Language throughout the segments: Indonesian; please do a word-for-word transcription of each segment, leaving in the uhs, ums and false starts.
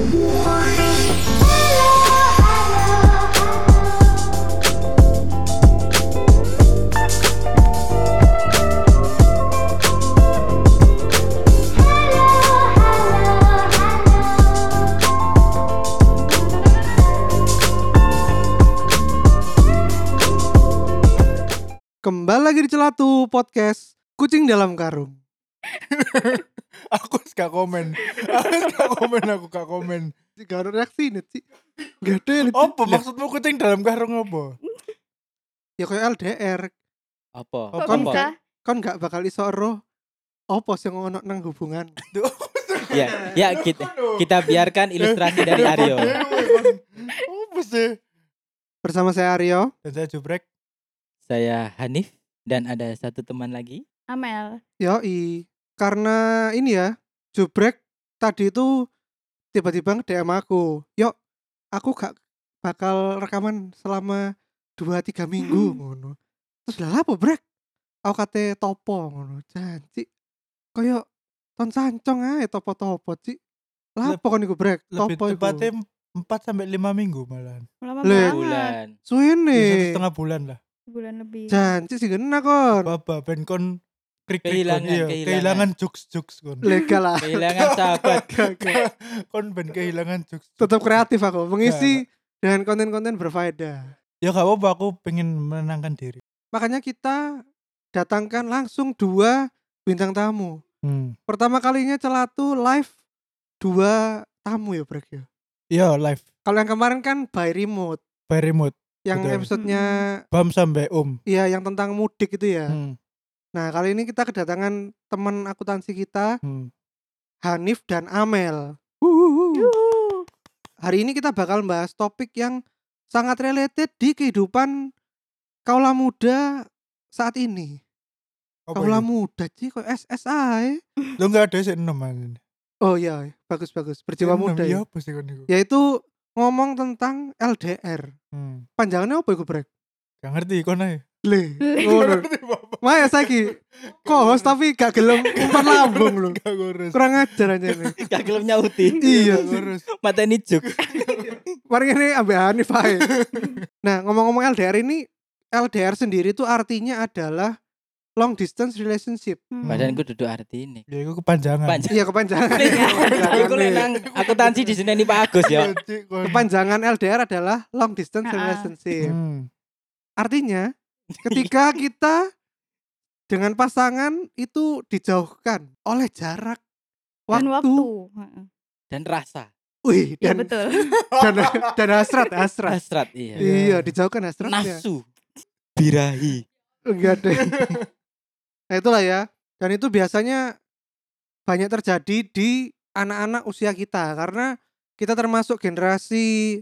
Kembali lagi di Celatu Podcast Kucing Dalam Karung. Aku gak komen. Aku gak komen, aku gak komen. Gak ada reaksi nih sih. Gak ada. Apa maksudmu kucing dalam karung apa? Ya kayak L D R. Apa? Kok Kon bisa? gak, kon gak bakal iso roh apa sing ngono nang hubungan. Ya, ya kita kita biarkan ilustrasi dari Aryo. Apa sih? Bersama saya Aryo. Dan saya Jubrek. Saya Hanif dan ada satu teman lagi. Amel. Yoi. Karena ini ya, Jubrek tadi itu tiba-tiba nge-D M aku. Yuk, aku gak bakal rekaman selama dua tiga minggu ngono. Terus lah apa Brek? Aku kate topo ngono. Janji koyo ton sancong ae topo-topo Ci. Lah apa kon iku Brek? Lebih Topo iku. tepatnya empat sampai lima minggu malahan. Lama Le- banget. Bulan. Ya, Suwene. satu setengah bulan lah. Bulan lebih. Janji sih kena kon. Baba ben kon krik-krik kon. Kehilangan, Iya, kehilangan. kehilangan jokes-jokes kon. Legal lah. Kehilangan sahabat. Kon ben kehilangan jokes. Tetap kreatif aku mengisi dengan konten-konten berfaedah. Ya gak apa-apa, aku pengen menenangkan diri. Makanya kita datangkan langsung dua bintang tamu. Hmm. Pertama kalinya Celatu live dua tamu ya Brek ya. Iya, live Kalau yang kemarin kan by remote, by remote. yang Betul. episodenya Bam sampai Om. iya yang tentang mudik itu ya. Hmm. Nah kali ini kita kedatangan teman akuntansi kita Hmm. Hanif dan Amel. Wuhuhu. Yuhu. Hari ini kita bakal bahas topik yang sangat related di kehidupan kaula muda saat ini. Apa Kaula itu? muda sih kok S S A ya. Lo gak ada sih enam aja. Oh iya, bagus bagus. Berjiwa muda Iya ya. apa sih kon iku? Yaitu ngomong tentang L D R. Hmm. Panjangannya apa iku Brek? Gak ngerti kon ae. Le. Le. Ngono. Ngerti Bapak. Maya saiki co-host tapi gak gelem umpan lambung lho. Gak ngurus. Kurang ajar aja nih. Gak gelem nyauti. Iya Gak sih. ngurus. Mateni juk. Mari ini ambek Hanif ae. Nah, ngomong-ngomong L D R ini, L D R sendiri itu artinya adalah long distance relationship. Hmm. Badanku duduk arti ini. Ya itu kepanjangan. Panjang. Iya, kepanjangan. Aku nek nang akuntansi di sini nih Pak Agus ya. Cik, kon. Kepanjangan L D R adalah long distance Ah. relationship. Hmm. Artinya ketika kita dengan pasangan itu dijauhkan oleh jarak, Dan waktu, waktu. Heeh. Dan rasa. wih, Iya dan, betul. dan dan hasrat, hasrat. Hasrat iya. Iya, dijauhkan hasratnya. Nafsu. Birahi. Enggak deh. Nah itulah ya. Dan itu biasanya banyak terjadi di anak-anak usia kita karena kita termasuk generasi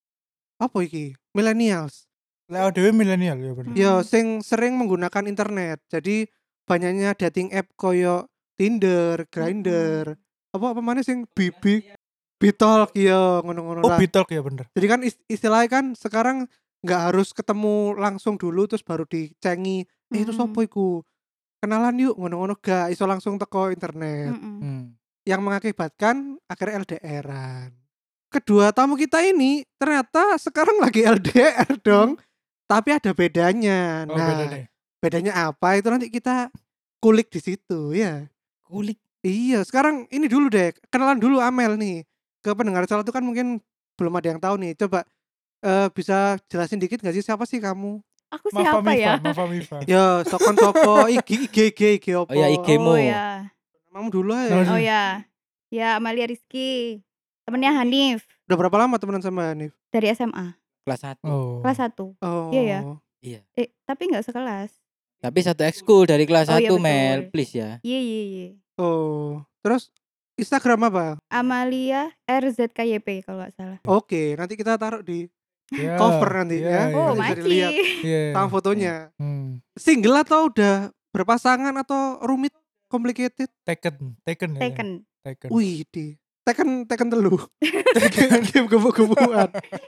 apa iki? Millennials. Lah dhewe milenial ya bener. Hmm. Ya sing sering menggunakan internet. Jadi banyaknya dating app koyo Tinder, Grindr, apa apa mana sing Bibi, Bitalk ya ngono-ngono Oh, lah. Bitalk ya bener. Jadi kan ist- istilahnya kan sekarang nggak harus ketemu langsung dulu terus baru dicengi. Eh itu Mm-mm. sopo iku? Kenalan yuk ngono-ngono gak iso langsung teko internet. Mm-mm. Hmm. Yang mengakibatkan akhirnya L D R-an. Kedua tamu kita ini ternyata sekarang lagi L D R dong. Tapi ada bedanya. Oh, Nah, beda deh. bedanya apa itu nanti kita kulik di situ ya. Kulik. Iya, sekarang ini dulu deh. Kenalan dulu Amel nih. Ke pendengar Celatu kan mungkin belum ada yang tahu nih. Coba eh, bisa jelasin dikit gak sih siapa sih kamu? Aku Mafa siapa ya? Mifa, Mafa Mifa. Ya, sokon sopo I G I G I G I G opo? Oh ya, I G mu. Oh ya. Namamu dulu Nama ya. dulu. Oh ya. Ya Amalia Rizky. Temennya Hanif Udah berapa lama temenan sama Hanif? dari S M A. Kelas satu. Oh. Kelas satu. Oh. Iya ya? Iya. Eh, tapi enggak sekelas. Tapi satu ekskul dari kelas Oh, iya, satu betul. Mel, please ya. Iya iya iya. Oh. Terus Instagram apa? Amalia R Z K Y P kalau nggak salah. Oke, nanti kita taruh di Ya, cover nanti ya, ya. Oh, bisa Maci. dilihat. Iya. Sama fotonya. Hmm. Single atau udah berpasangan atau rumit, complicated? Taken, Taken ya. Taken. Taken. Wih, di Tekken Tekken telu. Tekken game gebuk-gebukan.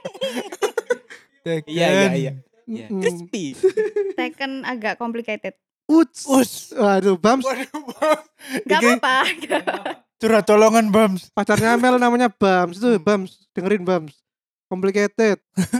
Taken. Iya, iya, iya. Iya. Mm. Crispy. Taken agak complicated. Uts. Us. Waduh, Bams. Waduh, Bang. Gak Iki apa-apa. Curhat tolongan Bams. Pacarnya Amel namanya Bams. Itu Bams, dengerin Bams. Complicated.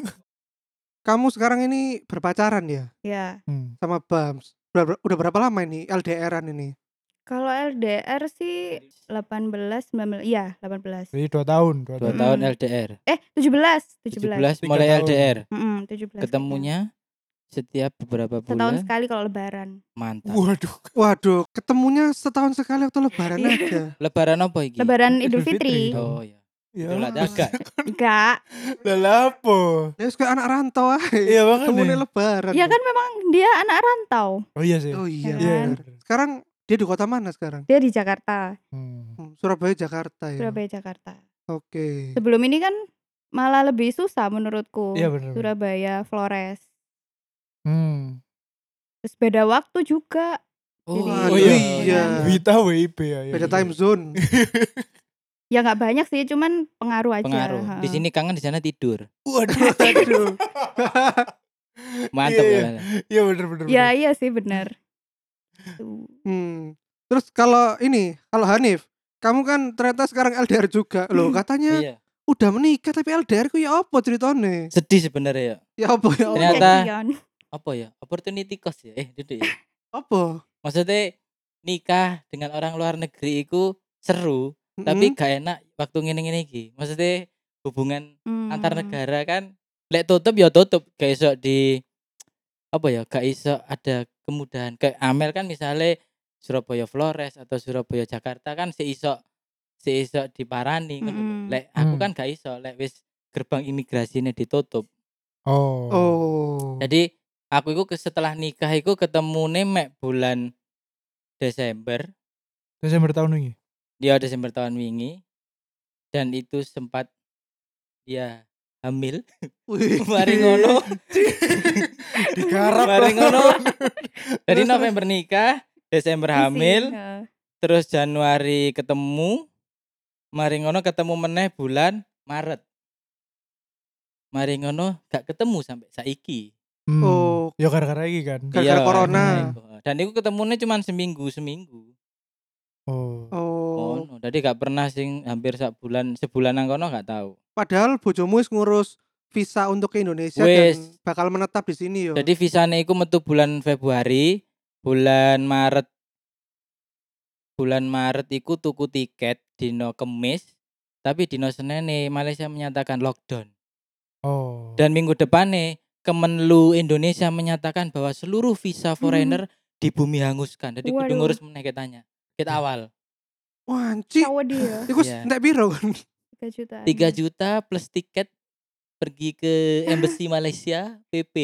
Kamu sekarang ini berpacaran ya Ya. Hmm. sama Bams. Udah, udah berapa lama ini L D R-an ini? Kalau L D R sih delapan belas, sembilan belas, iya delapan belas. Jadi dua tahun, dua Dua tahun. tahun Mm. L D R. Eh tujuh belas, tujuh tujuh belas. belas Tiga mulai tahun. L D R. Mm-mm, tujuh belas. Ketemunya setiap beberapa kayaknya. setahun bulan. sekali kalau lebaran. Mantap. Waduh. Waduh, ketemunya setahun sekali waktu lebaran Iya. aja. Lebaran apa iki? Lebaran Idul Idul Fitri. Fitri. Oh ya. Ya. Jumlah dagang. Enggak. Lah lapo? Ya kayak anak rantau aja. Iya makanya. Ketemunya lebaran. Ya kan memang dia anak rantau. Oh iya sih. Oh iya. Ya benar. kan? Sekarang dia di kota mana sekarang? Dia di Jakarta, Hmm. Hmm, Surabaya, Jakarta ya. Surabaya Jakarta. Oke. Sebelum ini kan malah lebih susah menurutku. Iya benar. Surabaya, Flores. Hmm. Terus beda waktu juga. Oh, Jadi- Oh iya. iya. Wita W I B ya. iya, Beda iya. time zone. Ya nggak banyak sih, cuman pengaruh aja. Pengaruh. Ha. Di sini kangen, di sana tidur. Waduh. Aduh. Mantap Iya, ya. Iya benar benar. Ya iya sih benar. Tuh. Hmm. Terus kalau ini, kalau Hanif, kamu kan ternyata sekarang L D R juga. Loh, katanya Iya. udah menikah tapi L D R ku ya apa ceritanya? Sedih sebenarnya ya. Ya apa ya? apa? Ternyata- Kasihan. Apa ya? Opportunity cost ya. Eh, itu ya. Apa? Maksudnya nikah dengan orang luar negeri itu seru, Mm-mm. tapi gak enak waktu ngene-ngene iki. Maksudnya hubungan Hmm. antar negara kan lek tutup ya tutup, gak iso di apa ya, gak iso ada kemudahan. Kayak Amel kan misalnya Surabaya Flores atau Surabaya Jakarta kan seiso seiso diparani ngono lho. Mm-mm. Lek aku Hmm. kan gak iso, lek wis gerbang imigrasinya ditutup. Oh. Oh. Jadi aku itu ke- setelah nikah itu ketemune mek bulan Desember, Desember tahun ini. dia Desember tahun wingi, dan itu sempat ya hamil. Wih. Mari ngono. Digarap. Mari ngono. Jadi November nikah, Desember Isi, hamil, ha. terus Januari ketemu, mari ngono ketemu meneh bulan Maret. Mari ngono gak ketemu sampai saiki. Hmm. Oh. Ya gara-gara iki kan. Gara-gara Iya, corona. karena itu. Dan itu ketemunya cuma seminggu seminggu. Oh. Oh. Oh, no. Jadi gak pernah sing hampir sak bulan sebulan nang kono gak tahu. Padahal bojomu wis ngurus visa untuk ke Indonesia Wis. dan bakal menetap di sini yo. Jadi visane iku metu bulan Februari, bulan Maret. Bulan Maret iku tuku tiket dino Kemis, tapi dino Senene Malaysia menyatakan lockdown. Oh. Dan minggu depannya Kemenlu Indonesia menyatakan bahwa seluruh visa foreigner di bumi hanguskan. Jadi kudu Waduh. ngurus meneh ketanya. Kita awal Wah, anci. Sawa dia Iku Iya. entek piro kan? tiga jutaan. tiga juta plus tiket pergi ke embassy Malaysia P P.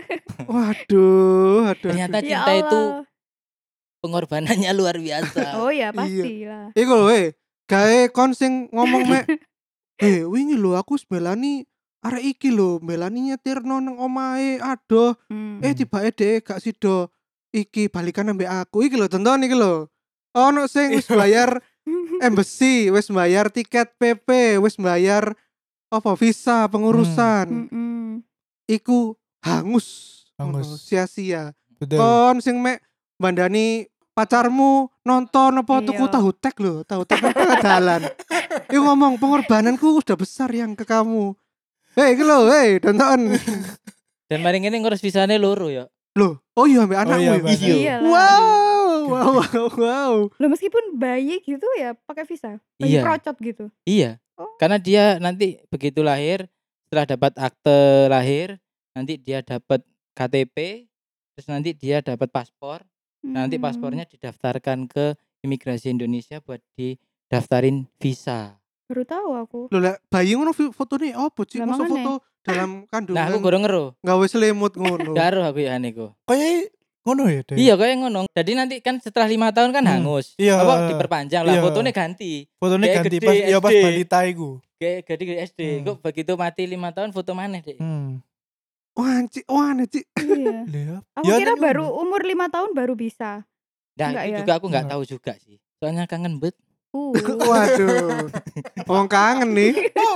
Waduh, aduh. Ternyata aduh. Ya cinta itu Allah. pengorbanannya luar biasa. Oh ya Iya. pastilah. Iku lho, eh, gawe kon sing ngomong mek, "Eh, wingi lho aku mbelani arek iki lho, mbelani nyetirno nang omahe, adoh. Hmm. Eh tibake dhek gak sido iki balikan ambek aku." Iki lho tonton iki lho. Ono sing wis bayar embassy, wis bayar tiket P P, wis bayar apa visa pengurusan. Mm-mm. Iku hangus. Hangus. Ngono, sia-sia. Betul. Kon sing mek bandani pacarmu nonton apa tuku Iya. tahu tek lho, tahu tek nang tengah dalan. Iku ngomong pengorbananku udah besar yang ke kamu. Hei, iki lho, hei, tonton. Dan mari ngene ngurus visane loro ya. Loh, oh iya ambek anakmu iya, ya? Mbak. Iya. Iyalah. Wow, wow, wow, wow. Loh meskipun bayi gitu ya pakai visa. Bayi Iya. procot gitu. Iya. Oh. Karena dia nanti begitu lahir, setelah dapat akte lahir, nanti dia dapat K T P, terus nanti dia dapat paspor. Nanti Hmm. paspornya didaftarkan ke imigrasi Indonesia buat didaftarin visa. Baru tahu aku. Loh lah, bayi ngono vi- fotone opo, Cik? Lah, Masa makanya. foto dalam Nah, aku kandungan gorong ngero. gawe selimut ngono. Gak aruh aku ya niku. Kayak ngono ya, Dek? Iya kayak ngono. Jadi nanti kan setelah lima tahun kan Hmm. hangus. Iya. Apa diperpanjang lah, Iya. fotonya ganti. Fotonya Kayak ganti gede, pas ya pas S D. balita iku. Kayak gede ke S D. Hmm. Kok begitu mati lima tahun foto mana deh? Hmm. Wah, Cik, wah, aneh, Cik. Iya. Lihat. Aku Ya, kira nek baru ngono. umur lima tahun baru bisa. Nah Enggak itu ya? juga aku nggak Enggak. tahu juga sih. Soalnya kangen bet. Uh. Waduh. Wong kangen nih.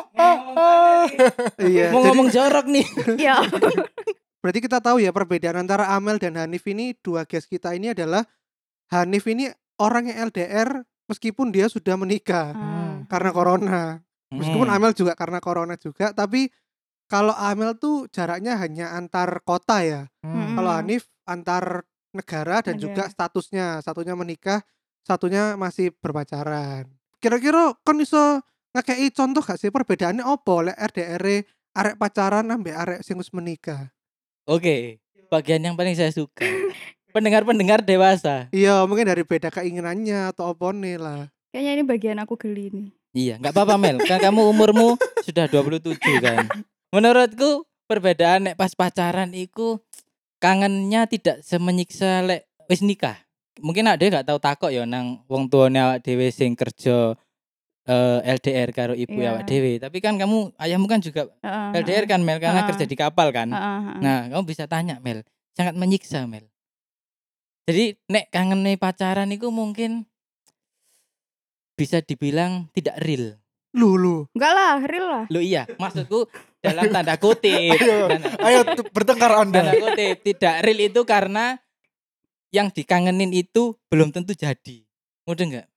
Iya. Mau jadi- ngomong jorok nih. Ya. Berarti kita tahu ya perbedaan antara Amel dan Hanif ini, dua guest kita ini adalah Hanif ini orang yang L D R meskipun dia sudah menikah Ah. karena corona. Meskipun Hmm. Amel juga karena corona juga, tapi kalau Amel tuh jaraknya hanya antar kota ya. Hmm. Kalau Mm. Hanif antar negara dan juga Negara. statusnya, satunya menikah, satunya masih berpacaran. Kira-kira kon iso ngekei contoh gak sih perbedaannya opo lek R D R -e arek pacaran ambek arek sing wis menikah? Oke, bagian yang paling saya suka. Pendengar-pendengar dewasa. Iya, mungkin dari beda keinginannya atau opone lah. Kayaknya ini bagian aku geli nih. Iya, nggak apa-apa Mel. Kan kamu umurmu sudah dua puluh tujuh kan. Menurutku perbedaan nek pas pacaran iku kangennya tidak semenyiksa lek wis nikah. Mungkin ada gak tahu takok ya nang wong tuane awak dhewe sing kerja eh, L D R karo ibu Iya. awak dhewe. Tapi kan kamu ayahmu kan juga Heeh, L D R kan Mel karena Heeh. kerja di kapal kan. heeh, heeh. Nah, kamu bisa tanya Mel, sangat menyiksa Mel. Jadi nek kangen pacaran itu mungkin bisa dibilang tidak real. Lu lu. Enggak lah, real lah. Lo iya, maksudku dalam tanda kutip. Ayo, Tanda, ayo tu- bertengkar tanda Anda. kutip tidak real itu karena yang dikangenin itu belum tentu jadi. Mudah enggak?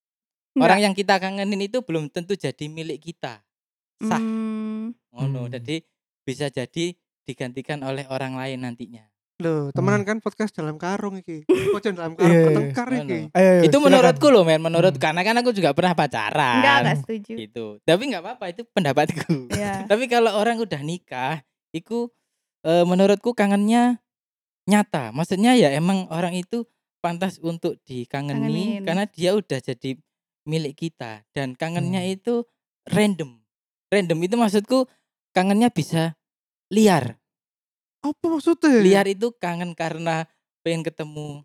Orang yang kita kangenin itu belum tentu jadi milik kita. Sah. Hmm, Ngono. Hmm. Jadi bisa jadi digantikan oleh orang lain nantinya. Loh, temenan kan podcast dalam karung iki. Podcast dalam karung Iya, iya. bertengkar Ngono. iki. Ayo, ayo, Itu silakan. menurutku loh men, menurut Hmm. karena kan aku juga pernah pacaran. enggak, enggak setuju. Gitu. Tapi nggak apa-apa itu pendapatku. Iya. Tapi kalau orang udah nikah, itu eh, menurutku kangennya nyata. Maksudnya ya emang orang itu pantas untuk dikangeni Kangenin. karena dia udah jadi milik kita dan kangennya Hmm. itu random. Random itu maksudku kangennya bisa liar. Apa maksudnya? Liar itu kangen karena pengen ketemu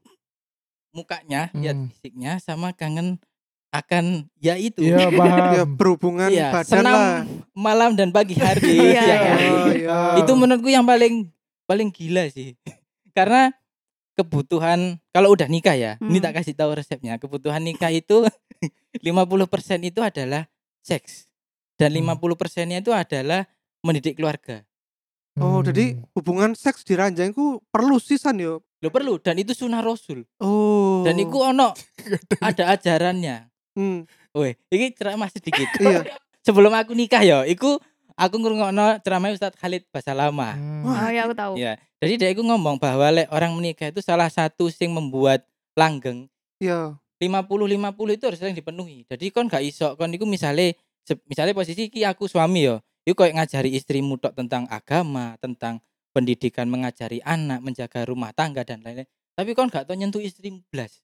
mukanya, lihat Hmm. fisiknya sama kangen akan ya itu. Iya, paham. Ya berhubungan Iya, badan senam lah. malam dan pagi hari. Iya, ya iya. kan? Oh, iya. Itu menurutku yang paling paling gila sih. Karena kebutuhan kalau udah nikah ya, ini Hmm. tak kasih tahu resepnya. Kebutuhan nikah itu lima puluh persen itu adalah seks dan Hmm. lima puluh persennya itu adalah mendidik keluarga. Oh, Hmm. jadi hubungan seks di ranjang ku perlu sisan yo. Lo perlu dan itu sunnah Rasul. Oh. Dan itu ono ada ajarannya. Hmm, Weh, ini ceramah sedikit. iya. Sebelum aku nikah ya, iku aku ngrungokno ceramah Ustadz Khalid Basalamah. Hmm. Oh ya aku tahu. Ya, jadi dia iku ngomong bahwa lek orang menikah itu salah satu sing membuat langgeng Iya. lima puluh lima puluh itu harus sering dipenuhi. Jadi kon gak iso kon iku misale se- misale posisi ki aku suami yo, iku koyo ngajari istrimu tok tentang agama, tentang pendidikan, mengajari anak, menjaga rumah tangga dan lain-lain. Tapi kon gak tau nyentuh istrimu blas.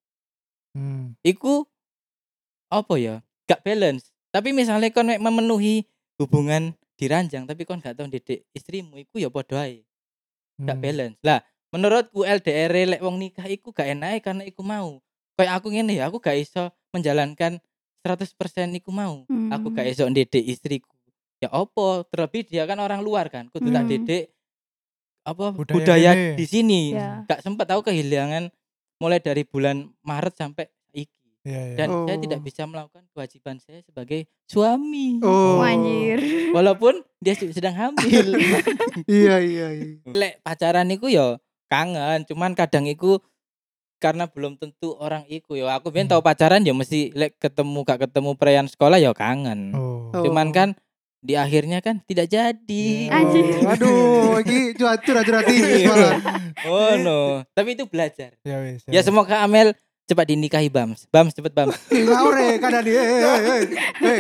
Hmm. Iku apa ya? Gak balance. Tapi misalnya kon mek memenuhi hubungan di ranjang tapi kon gak tau didik istrimu iku ya padha ae. Gak Hmm. balance. Lah, menurutku L D R lek wong nikah iku gak enak karena iku mau. Kayak aku ngene ya, aku gak iso menjalankan seratus persen iku mau. Aku gak Hmm. iso ndidik istriku. Ya opo, terlebih dia kan orang luar kan. Kudu tak Hmm. didik apa Budaya budaya, kene. di sini. Ya. Gak sempat aku kehilangan mulai dari bulan Maret sampai iki. Iya, iya. Dan saya Oh. tidak bisa melakukan kewajiban saya sebagai suami. Oh. Wah, anjir. Walaupun dia se- sedang hamil. Iya, iya, iya. Lek pacaran iku ya kangen, cuman kadang iku karena belum tentu orang iku ya. Aku biyen Hmm. tau pacaran ya mesti lek ketemu gak ketemu perayaan sekolah ya kangen. Oh. Oh. Cuman kan di akhirnya kan tidak jadi. Anjir. Oh, aduh, iki curhat-curhat ini malah. Oh no. Tapi itu belajar. Ya wis. Ya semoga Amel cepat dinikahi Bams. Bams cepet Bams. Ngaure kadang dia. Eh, eh, eh.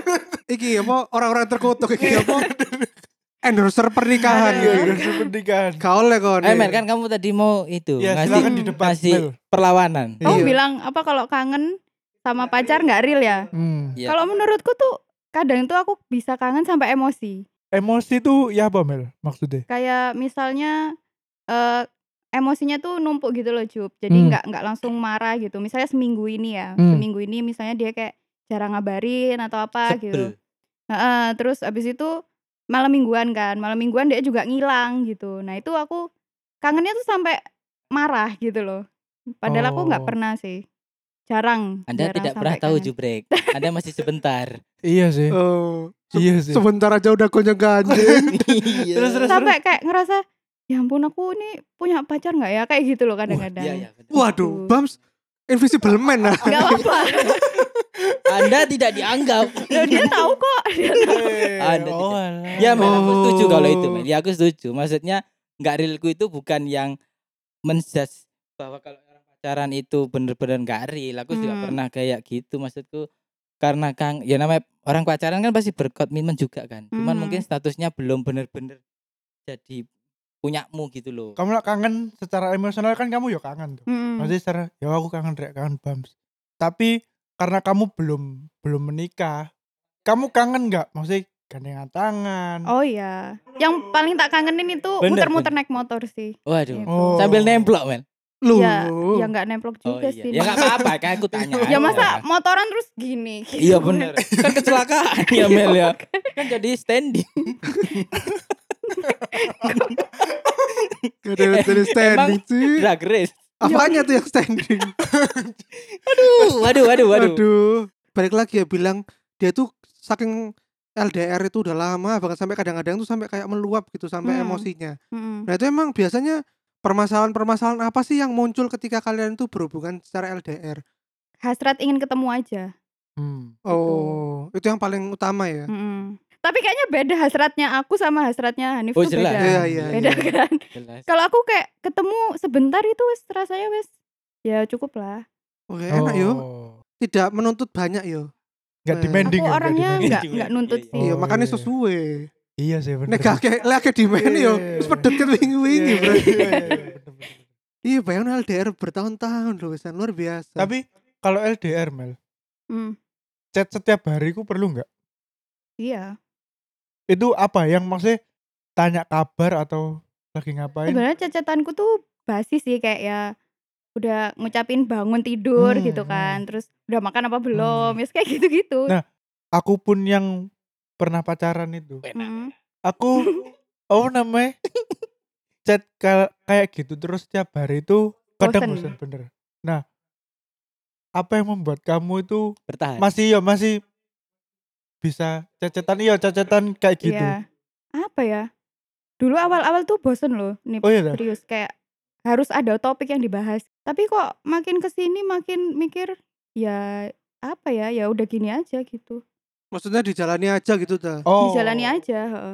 Iki apa orang-orang terkutuk iki apa? Endorser pernikahan Iya, gitu. udah pernikahan. Kau oleh kon. Eh Mel kan kamu tadi mau itu Ya, ngasih silakan di depan. ngasih Mel. perlawanan. Kamu Iya. bilang apa kalau kangen sama pacar nggak real ya? Hmm. Iya. Kalau menurutku tuh kadang tuh aku bisa kangen sampai emosi. Emosi tuh ya apa Mel maksudnya? Kayak misalnya eh emosinya tuh numpuk gitu loh, Jup. Jadi Hmm. nggak nggak langsung marah gitu. Misalnya seminggu ini ya, Hmm. seminggu ini misalnya dia kayak jarang ngabarin atau apa gitu. Sebel. Heeh, terus abis itu malam mingguan kan, malam mingguan dia juga ngilang gitu. Nah itu aku kangennya tuh sampai marah gitu loh. Padahal aku nggak Oh. pernah sih, jarang. Anda jarang tidak sampai pernah tahu kangen. Jubrek. Anda masih sebentar. Iya sih. Oh. se- Iya sih. Sebentar aja udah gonjang ganjing. Iya. Terus, terus. Sampai kayak ngerasa ya ampun aku ini punya pacar nggak ya kayak gitu loh Wah, kadang-kadang. iya, iya, bener. Waduh, Bams Invisible Man lah. Enggak apa-apa. Anda tidak dianggap. Loh, dia tahu kok. Dia tahu. Anda oh, tidak. alah. Ya Mel, aku setuju kalau itu Oh. Mel. Ya aku setuju. Maksudnya nggak realku itu bukan yang menjudge bahwa kalau orang pacaran itu bener-bener nggak real. Aku juga Hmm. pernah kayak gitu. Maksudku karena Kang, ya namanya orang pacaran kan pasti berkomitmen juga kan. Cuman Hmm. mungkin statusnya belum bener-bener jadi punyamu gitu loh. Kamu lah kangen secara emosional kan kamu ya kangen tuh. Mm-mm. Maksudnya secara ya aku kangen rek kangen Bams. Tapi karena kamu belum belum menikah, kamu kangen nggak? Maksudnya gandengan tangan. Oh iya. Yang paling tak kangenin itu Bener, muter-muter bener. naik motor sih. Waduh. Itu. Oh. Sambil nemplok Mel. Loh. Ya, ya nggak nemplok Oh juga iya. sih. Ya nggak apa-apa kan aku tanya. Ya aja. masa motoran terus gini. gitu. Iya bener. Kan kecelakaan ya Mel ya. Kan jadi standing. Gak ada dari standing sih. Drag race. Apanya tuh yang standing? Aduh, waduh, waduh, waduh. Aduh. Balik lagi ya bilang dia tuh saking L D R itu udah lama bahkan sampai kadang-kadang tuh sampai kayak meluap gitu sampai Hmm. emosinya. Mm-mm. Nah itu emang biasanya permasalahan-permasalahan apa sih yang muncul ketika kalian tuh berhubungan secara L D R? Hasrat ingin ketemu aja. Hmm. Oh, itu yang paling utama ya. Mm-mm. Tapi kayaknya beda hasratnya aku sama hasratnya Hanif Oh, tuh jelas. beda. Iya, iya, beda iya. kan. Jelas. Kalau aku kayak ketemu sebentar itu wes rasanya wes ya cukup lah. Oke, enak yo. Oh. Tidak menuntut banyak yo. Nggak Eh. demanding Aku ya, nggak orangnya demanding. nggak Iya, nggak iya, nuntut iya. sih. Iya, Oh, makanya iya. sesuai. Iya sih bener. Nek gak kayak lek akeh demand yo, Iya. wis pedot ket wingi-wingi, Iya, Bro. iya, iya, iya, bener-bener. Iya, bayangin L D R bertahun-tahun loh, wisan luar biasa. Tapi kalau L D R Mel, Hmm, chat setiap hari ku perlu nggak? iya. Itu apa yang maksudnya tanya kabar atau lagi ngapain? Sebenarnya cacatanku tuh basi sih kayak ya udah ngucapin bangun tidur Hmm, gitu kan. hmm. Terus udah makan apa belum? Hmm. Ya kayak gitu-gitu. Nah, Aku pun yang pernah pacaran itu, Mm. aku oh namanya chat kal- kayak gitu terus setiap hari itu kadang Bosen. bosan bener. Nah, apa yang membuat kamu itu Bertahan. masih ya masih bisa cecetan iya cecetan kayak gitu? Iya. Apa ya? Dulu awal-awal tuh bosen loh. Nih Oh iya dah. serius kayak harus ada topik yang dibahas. Tapi kok makin kesini makin mikir ya apa ya? Ya udah gini aja gitu. Maksudnya dijalani aja gitu ta. Oh. Dijalani aja. heeh.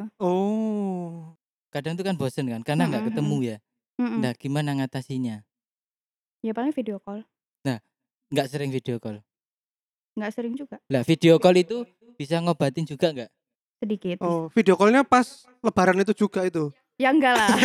Oh. Kadang tuh kan bosen kan karena nggak Mm-mm, ketemu ya. Mm-mm. Nah, gimana ngatasinya? Ya paling video call. Nggak sering video call. Nggak sering juga. Lah, video call itu bisa ngobatin juga nggak? Sedikit. Oh, video callnya pas lebaran itu juga itu. Ya enggak lah.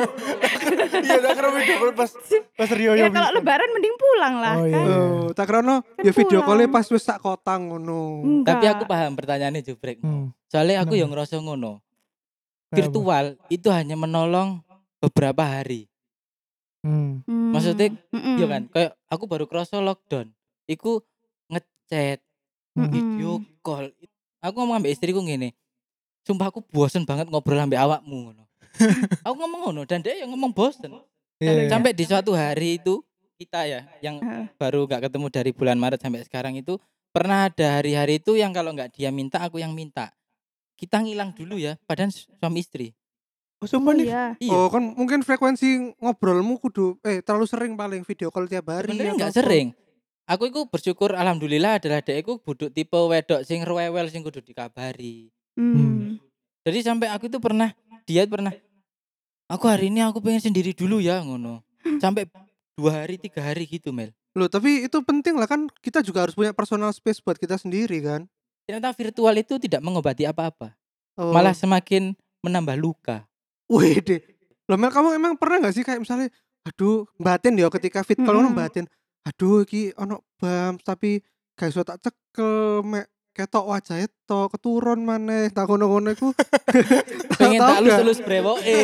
Iya, tak kira video call pas pas Rio Ya yang kalau bisa. lebaran mending pulang lah Oh, iya. kan. Oh, tak krono Kan ya video pulang. callnya pas wis sak kota ngono. Enggak. Tapi aku paham pertanyaannya Jubrek. Hmm. Soalnya aku Kenapa? yang ngerasa ngono. Kenapa? Virtual itu hanya menolong beberapa hari. Hmm. Hmm, Maksudnya, mm-mm. Iya kan? Kayak aku baru kerasa lockdown. Iku ngechat, Hmm. video call. Aku ngomong ambek istriku ngene. Sumpah aku bosen banget ngobrol ambek awakmu ngono. Aku ngomong ngono dan dia yang ngomong bosen. Iya, iya. Sampai di suatu hari itu kita ya yang Heeh. baru gak ketemu dari bulan Maret sampai sekarang itu pernah ada hari-hari itu yang kalau nggak dia minta aku yang minta. Kita ngilang dulu ya, padahal suami istri. Oh, Oh sumpah nih. iya. Iya. Oh, kan mungkin frekuensi ngobrolmu kudu eh terlalu sering paling video call tiap hari. Sebenarnya atau nggak apa. sering. Aku itu bersyukur alhamdulillah adalah dekku buduk tipe wedok sing rewel sing kudu dikabari. Hmm. Jadi sampai aku itu pernah dia pernah aku hari ini aku pengen sendiri dulu ya ngono. Sampai dua hari tiga hari gitu Mel. Loh, tapi itu penting lah kan kita juga harus punya personal space buat kita sendiri kan. Ternyata virtual itu tidak mengobati apa-apa. Oh. Malah semakin menambah luka. Wih deh. Loh Mel, kamu emang pernah gak sih kayak misalnya aduh batin ya ketika fit kalau Mm-mm. batin aduh iki ono bam tapi gak iso tak cekel mek ketok wajah itu keturun maneh tak ngono-ngono iku Pengen Tahu tak gak? lus-lus brewoke.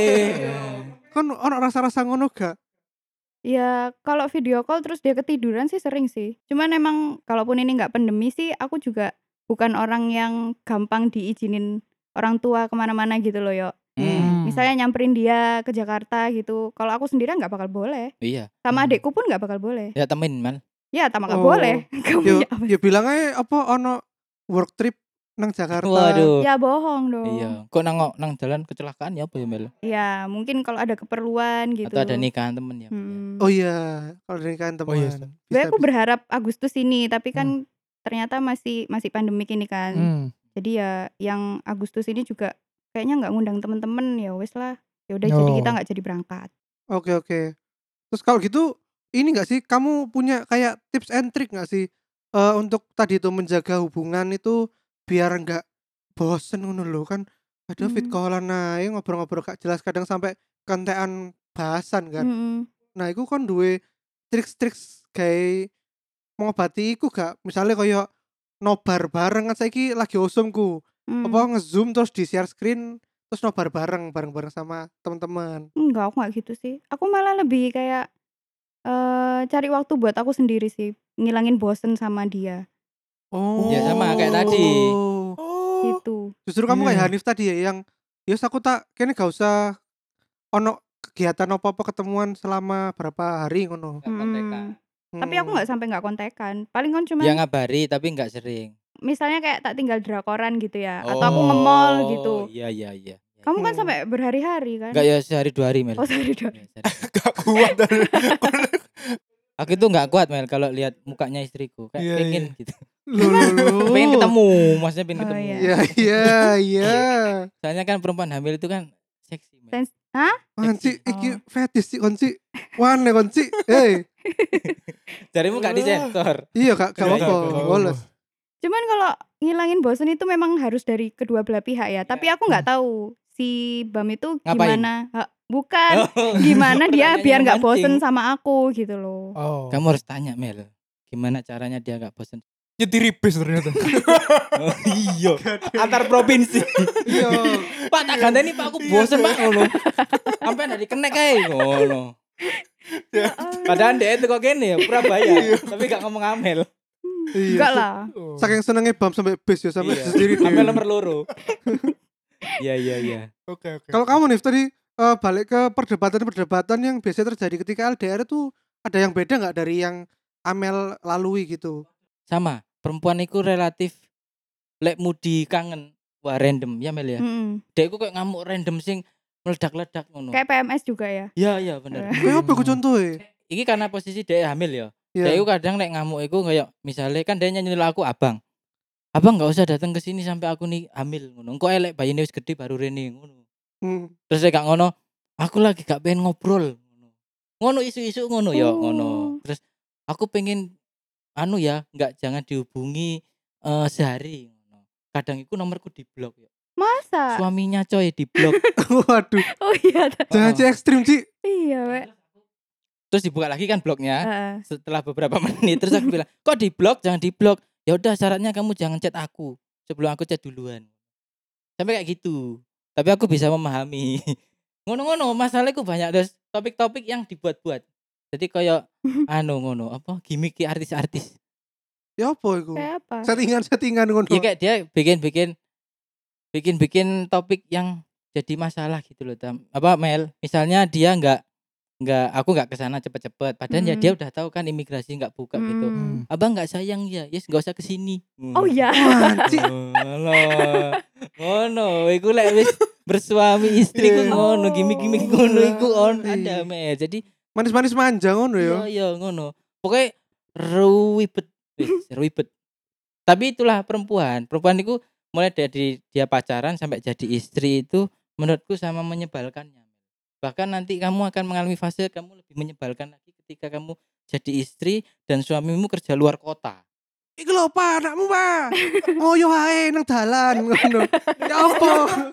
kan ono rasa-rasa ngono gak. Ya kalau video call terus dia ketiduran sih sering sih. Cuman emang kalaupun ini nggak pandemi sih aku juga bukan orang yang gampang diizinin orang tua kemana-mana gitu loh yo. Hmm, Misalnya nyamperin dia ke Jakarta gitu. Kalau aku sendirian nggak bakal boleh. iya. Sama Hmm. adekku pun nggak bakal boleh. Ya temen Mal. Ya sama nggak Oh. boleh. Kamu Yo ya apa? ya bilang aja apa ono work trip nang Jakarta. Waduh. Ya bohong dong. Iya. Kok nang nang jalan kecelakaan ya apa ya Mel? Ya mungkin kalau ada keperluan gitu. Atau ada nikahan temen ya. Hmm. Oh iya, kalau nikahan Oh iya, teman. Sebenarnya Bisa aku bisa. berharap Agustus ini, tapi Hmm. kan ternyata masih masih pandemik ini kan. Hmm. Jadi ya yang Agustus ini juga kayaknya nggak ngundang temen-temen, ya wes lah. Ya udah jadi kita Oh. nggak jadi berangkat. Oke oke. Terus kalau gitu ini nggak sih kamu punya kayak tips and trick nggak sih eh, untuk tadi itu menjaga hubungan itu biar nggak bosen ngono lho kan ada fit Hmm. callan ae ngobrol-ngobrol gak jelas kadang sampai kentekan bahasan kan. Mm-mm. Nah, iku kon duwe triks-triks gawe mengobati iku gak? Misalnya kayak nobar bareng kan saiki lagi osumku. Apa Hmm. nge-zoom terus di share screen terus nobar bareng bareng-bareng sama teman-teman. Enggak, aku nggak gitu sih. Aku malah lebih kayak eh cari waktu buat aku sendiri sih, ngilangin bosen sama dia. Oh. Ya sama kayak tadi. Oh. Gitu. Justru kamu kayak Iya. Hanif tadi ya yang yus aku tak kene gak usah ono kegiatan apa-apa ketemuan selama berapa hari ngono. Nggak kontekan. Hmm. Tapi aku nggak sampai nggak kontekan. Paling kan cuman Ya ngabari tapi nggak sering. misalnya kayak tak tinggal drakoran gitu ya, atau aku nge-mall gitu. Oh, iya iya iya. Kamu kan Hmm. sampai berhari-hari kan? Enggak ya sehari dua hari Mel. Oh, sehari dua. Ya, sehari. Gak kuat. Aku itu nggak kuat Mel kalau lihat mukanya istriku. Kayak Iya, pengen iya. gitu. Loh, loh, loh. Pengen ketemu, maksudnya pengen Oh, ketemu. iya. Iya iya iya. Soalnya kan perempuan hamil itu kan seksi Mel. Sens- Hah? Konci Seksi. iki Oh. fetis sih konci. Wane konci. Eh, Jarimu gak disensor. iya Kak, gak Iya, apa-apa. iya, iya. Woles. Cuman kalau ngilangin bosen itu memang harus dari kedua belah pihak ya. Tapi aku nggak tahu si Bam itu Ngapain? gimana. Ha, bukan Oh, gimana dia pertanyaannya biar nggak memancing. bosen sama aku gitu loh. Oh. Kamu harus tanya Mel. Gimana caranya dia gak bosan? Nyetiri bis ternyata. Oh, iya. Antar provinsi. Iya. Pak tak ganteni Pak aku bosen Pak ngono. Sampai dari kenek kae ngono. Padahal dia itu kok gini ya Surabaya, tapi gak ngomong Amel. Iya. Enggak lah. Oh. Saking senengnya Bam sampai bis ya sampai Iya. sendiri. Amel nomor loro. Iya iya iya. Oke oke. Kalau kamu nih tadi eh, balik ke perdebatan-perdebatan yang biasanya terjadi ketika L D R itu ada yang beda nggak dari yang Amel lalui gitu? Sama, perempuan itu relatif lek mudi kangen wah random ya Mel ya. Mm-mm. Dek iku kayak ngamuk random sing meledak-ledak ngono. Kayak P M S juga ya. Iya iya bener. Kayak apa ku contohnya? Iki karena posisi dia hamil ya. Iya. Dia itu kadang nek ngamuk iku kayak misalnya kan dia nyuruh aku abang. Abang nggak usah datang ke sini sampai aku nih hamil ngono. Engko elek bayine wis gede baru rene ngono. Hmm. Terus saya gak ngono, aku lagi gak pengen ngobrol ngono. Ngono isu-isu ngono ya Oh. ngono. Terus aku pengen anu ya, enggak jangan dihubungi eh, sehari ngono. Kadang iku nomorku diblok ya. Masa? Suaminya coy diblok. Waduh, Oh iya. ta- jangan sih ekstrim Ci. Iya, Wek. Terus dibuka lagi kan bloknya. Heeh. Setelah beberapa menit terus aku bilang, "Kok diblok? Jangan diblok." Ya udah syaratnya kamu jangan chat aku sebelum aku chat duluan. Sampai kayak gitu. Tapi aku bisa memahami. Ngono-ngono, masalahku banyak terus topik-topik yang dibuat-buat. Jadi kayak anu ngono, apa gimmick artis-artis. Ya apa itu? Kayak apa? Settingan-settingan ngono. Ya kayak dia bikin-bikin bikin-bikin topik yang jadi masalah gitu loh, Tam. Apa Mel? Misalnya dia enggak enggak aku enggak ke sana cepet-cepet. Padahal ya Hmm. dia udah tahu kan imigrasi enggak buka gitu. Hmm. Abang enggak sayang ya, yes enggak usah ke sini. Oh iya. Wah, Ci. Ngono. Ngono, iku lek wis bersuami istri ku Iya. ngono, gimik-gimik ngono iku on Iya. ada Mel. Jadi Manis-manis manja ngono iya ya. iya ngono. Pokoknya ruwibet, wis ruwibet. Tapi itulah perempuan. Perempuan itu mulai dari dia pacaran sampai jadi istri itu menurutku sama menyebalkannya. Bahkan nanti kamu akan mengalami fase kamu lebih menyebalkan lagi ketika kamu jadi istri dan suamimu kerja luar kota. Iku lho Pak, anakmu Pak. Ngoyo ae nang dalan ngono. Ya apa?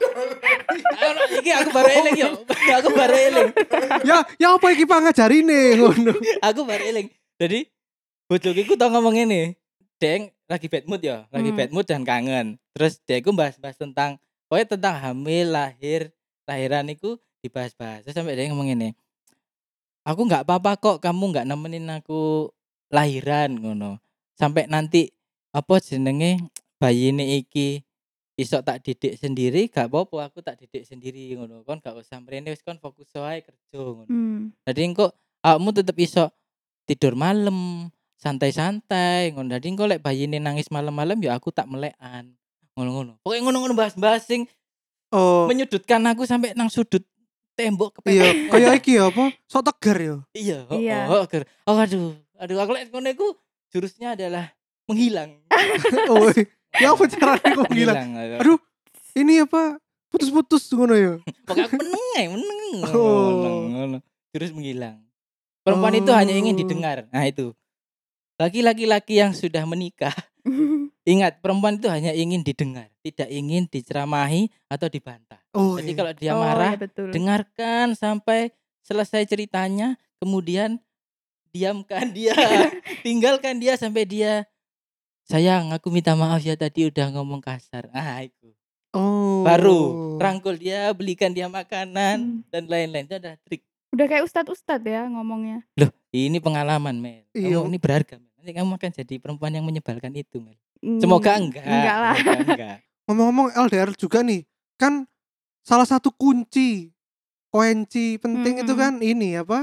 Anu, iki aku baru eling yo. Aku baru eling. Ya ya apa iki Pak ngajarine ngono. Aku baru eling. Jadi bojoku iku tau ngomong ngene. Deng lagi bad mood ya, lagi Hmm. bad mood dan kangen. Terus dia iku bahas-bahas tentang pokoknya tentang hamil, lahir, lahiran iku dibahas-bahas. Terus sampai dia ngomong ngene. Aku nggak apa-apa kok kamu nggak nemenin aku lahiran ngono. Sampai nanti apa jenenge bayine iki iso tak didik sendiri gak apa-apa aku tak didik sendiri ngono. Kon gak usah mrene wis kon fokus wae kerja ngono. Hmm. Jadi engko awakmu tetep iso tidur malam, santai-santai ngono. Jadi engko lek bayine nangis malam-malam ya aku tak melekan. Ngono-ngono. Pokoknya ngono-ngono bahas-bahas sing Oh, menyudutkan aku sampai nang sudut tembok kepepet. Iya, kayak iki ya apa? Sok tegar ya. Iya, oh, Iya. oh, oh, oh, aduh, aduh, aku lek ngono iku jurusnya adalah menghilang. Oh, ya apa caranya kok gila? Aduh, ini apa? Putus-putus ngono ya. Pokoknya aku meneng ae, meneng. Oh. Ngono, ngono. Jurus menghilang. Perempuan itu hanya ingin didengar. Nah, itu. Bagi laki-laki yang sudah menikah, ingat perempuan itu hanya ingin didengar, tidak ingin diceramahi atau dibantah. Oh, Jadi iya. kalau dia Oh, marah, ya betul. dengarkan sampai selesai ceritanya, kemudian diamkan dia, tinggalkan dia sampai dia, sayang aku minta maaf ya tadi udah ngomong kasar. Ah itu. Oh. Baru rangkul dia, belikan dia makanan Hmm. dan lain-lain. Itu ada trik. Udah kayak ustad-ustad ya ngomongnya. Loh, ini pengalaman, Mel. Iya. Kamu ini berharga, Mel. Nanti kamu akan jadi perempuan yang menyebalkan itu, Mel. Hmm, Semoga enggak. Enggak lah. Semoga enggak. Ngomong-ngomong L D R juga nih, kan salah satu kunci kunci penting itu Mm-mm. kan ini apa?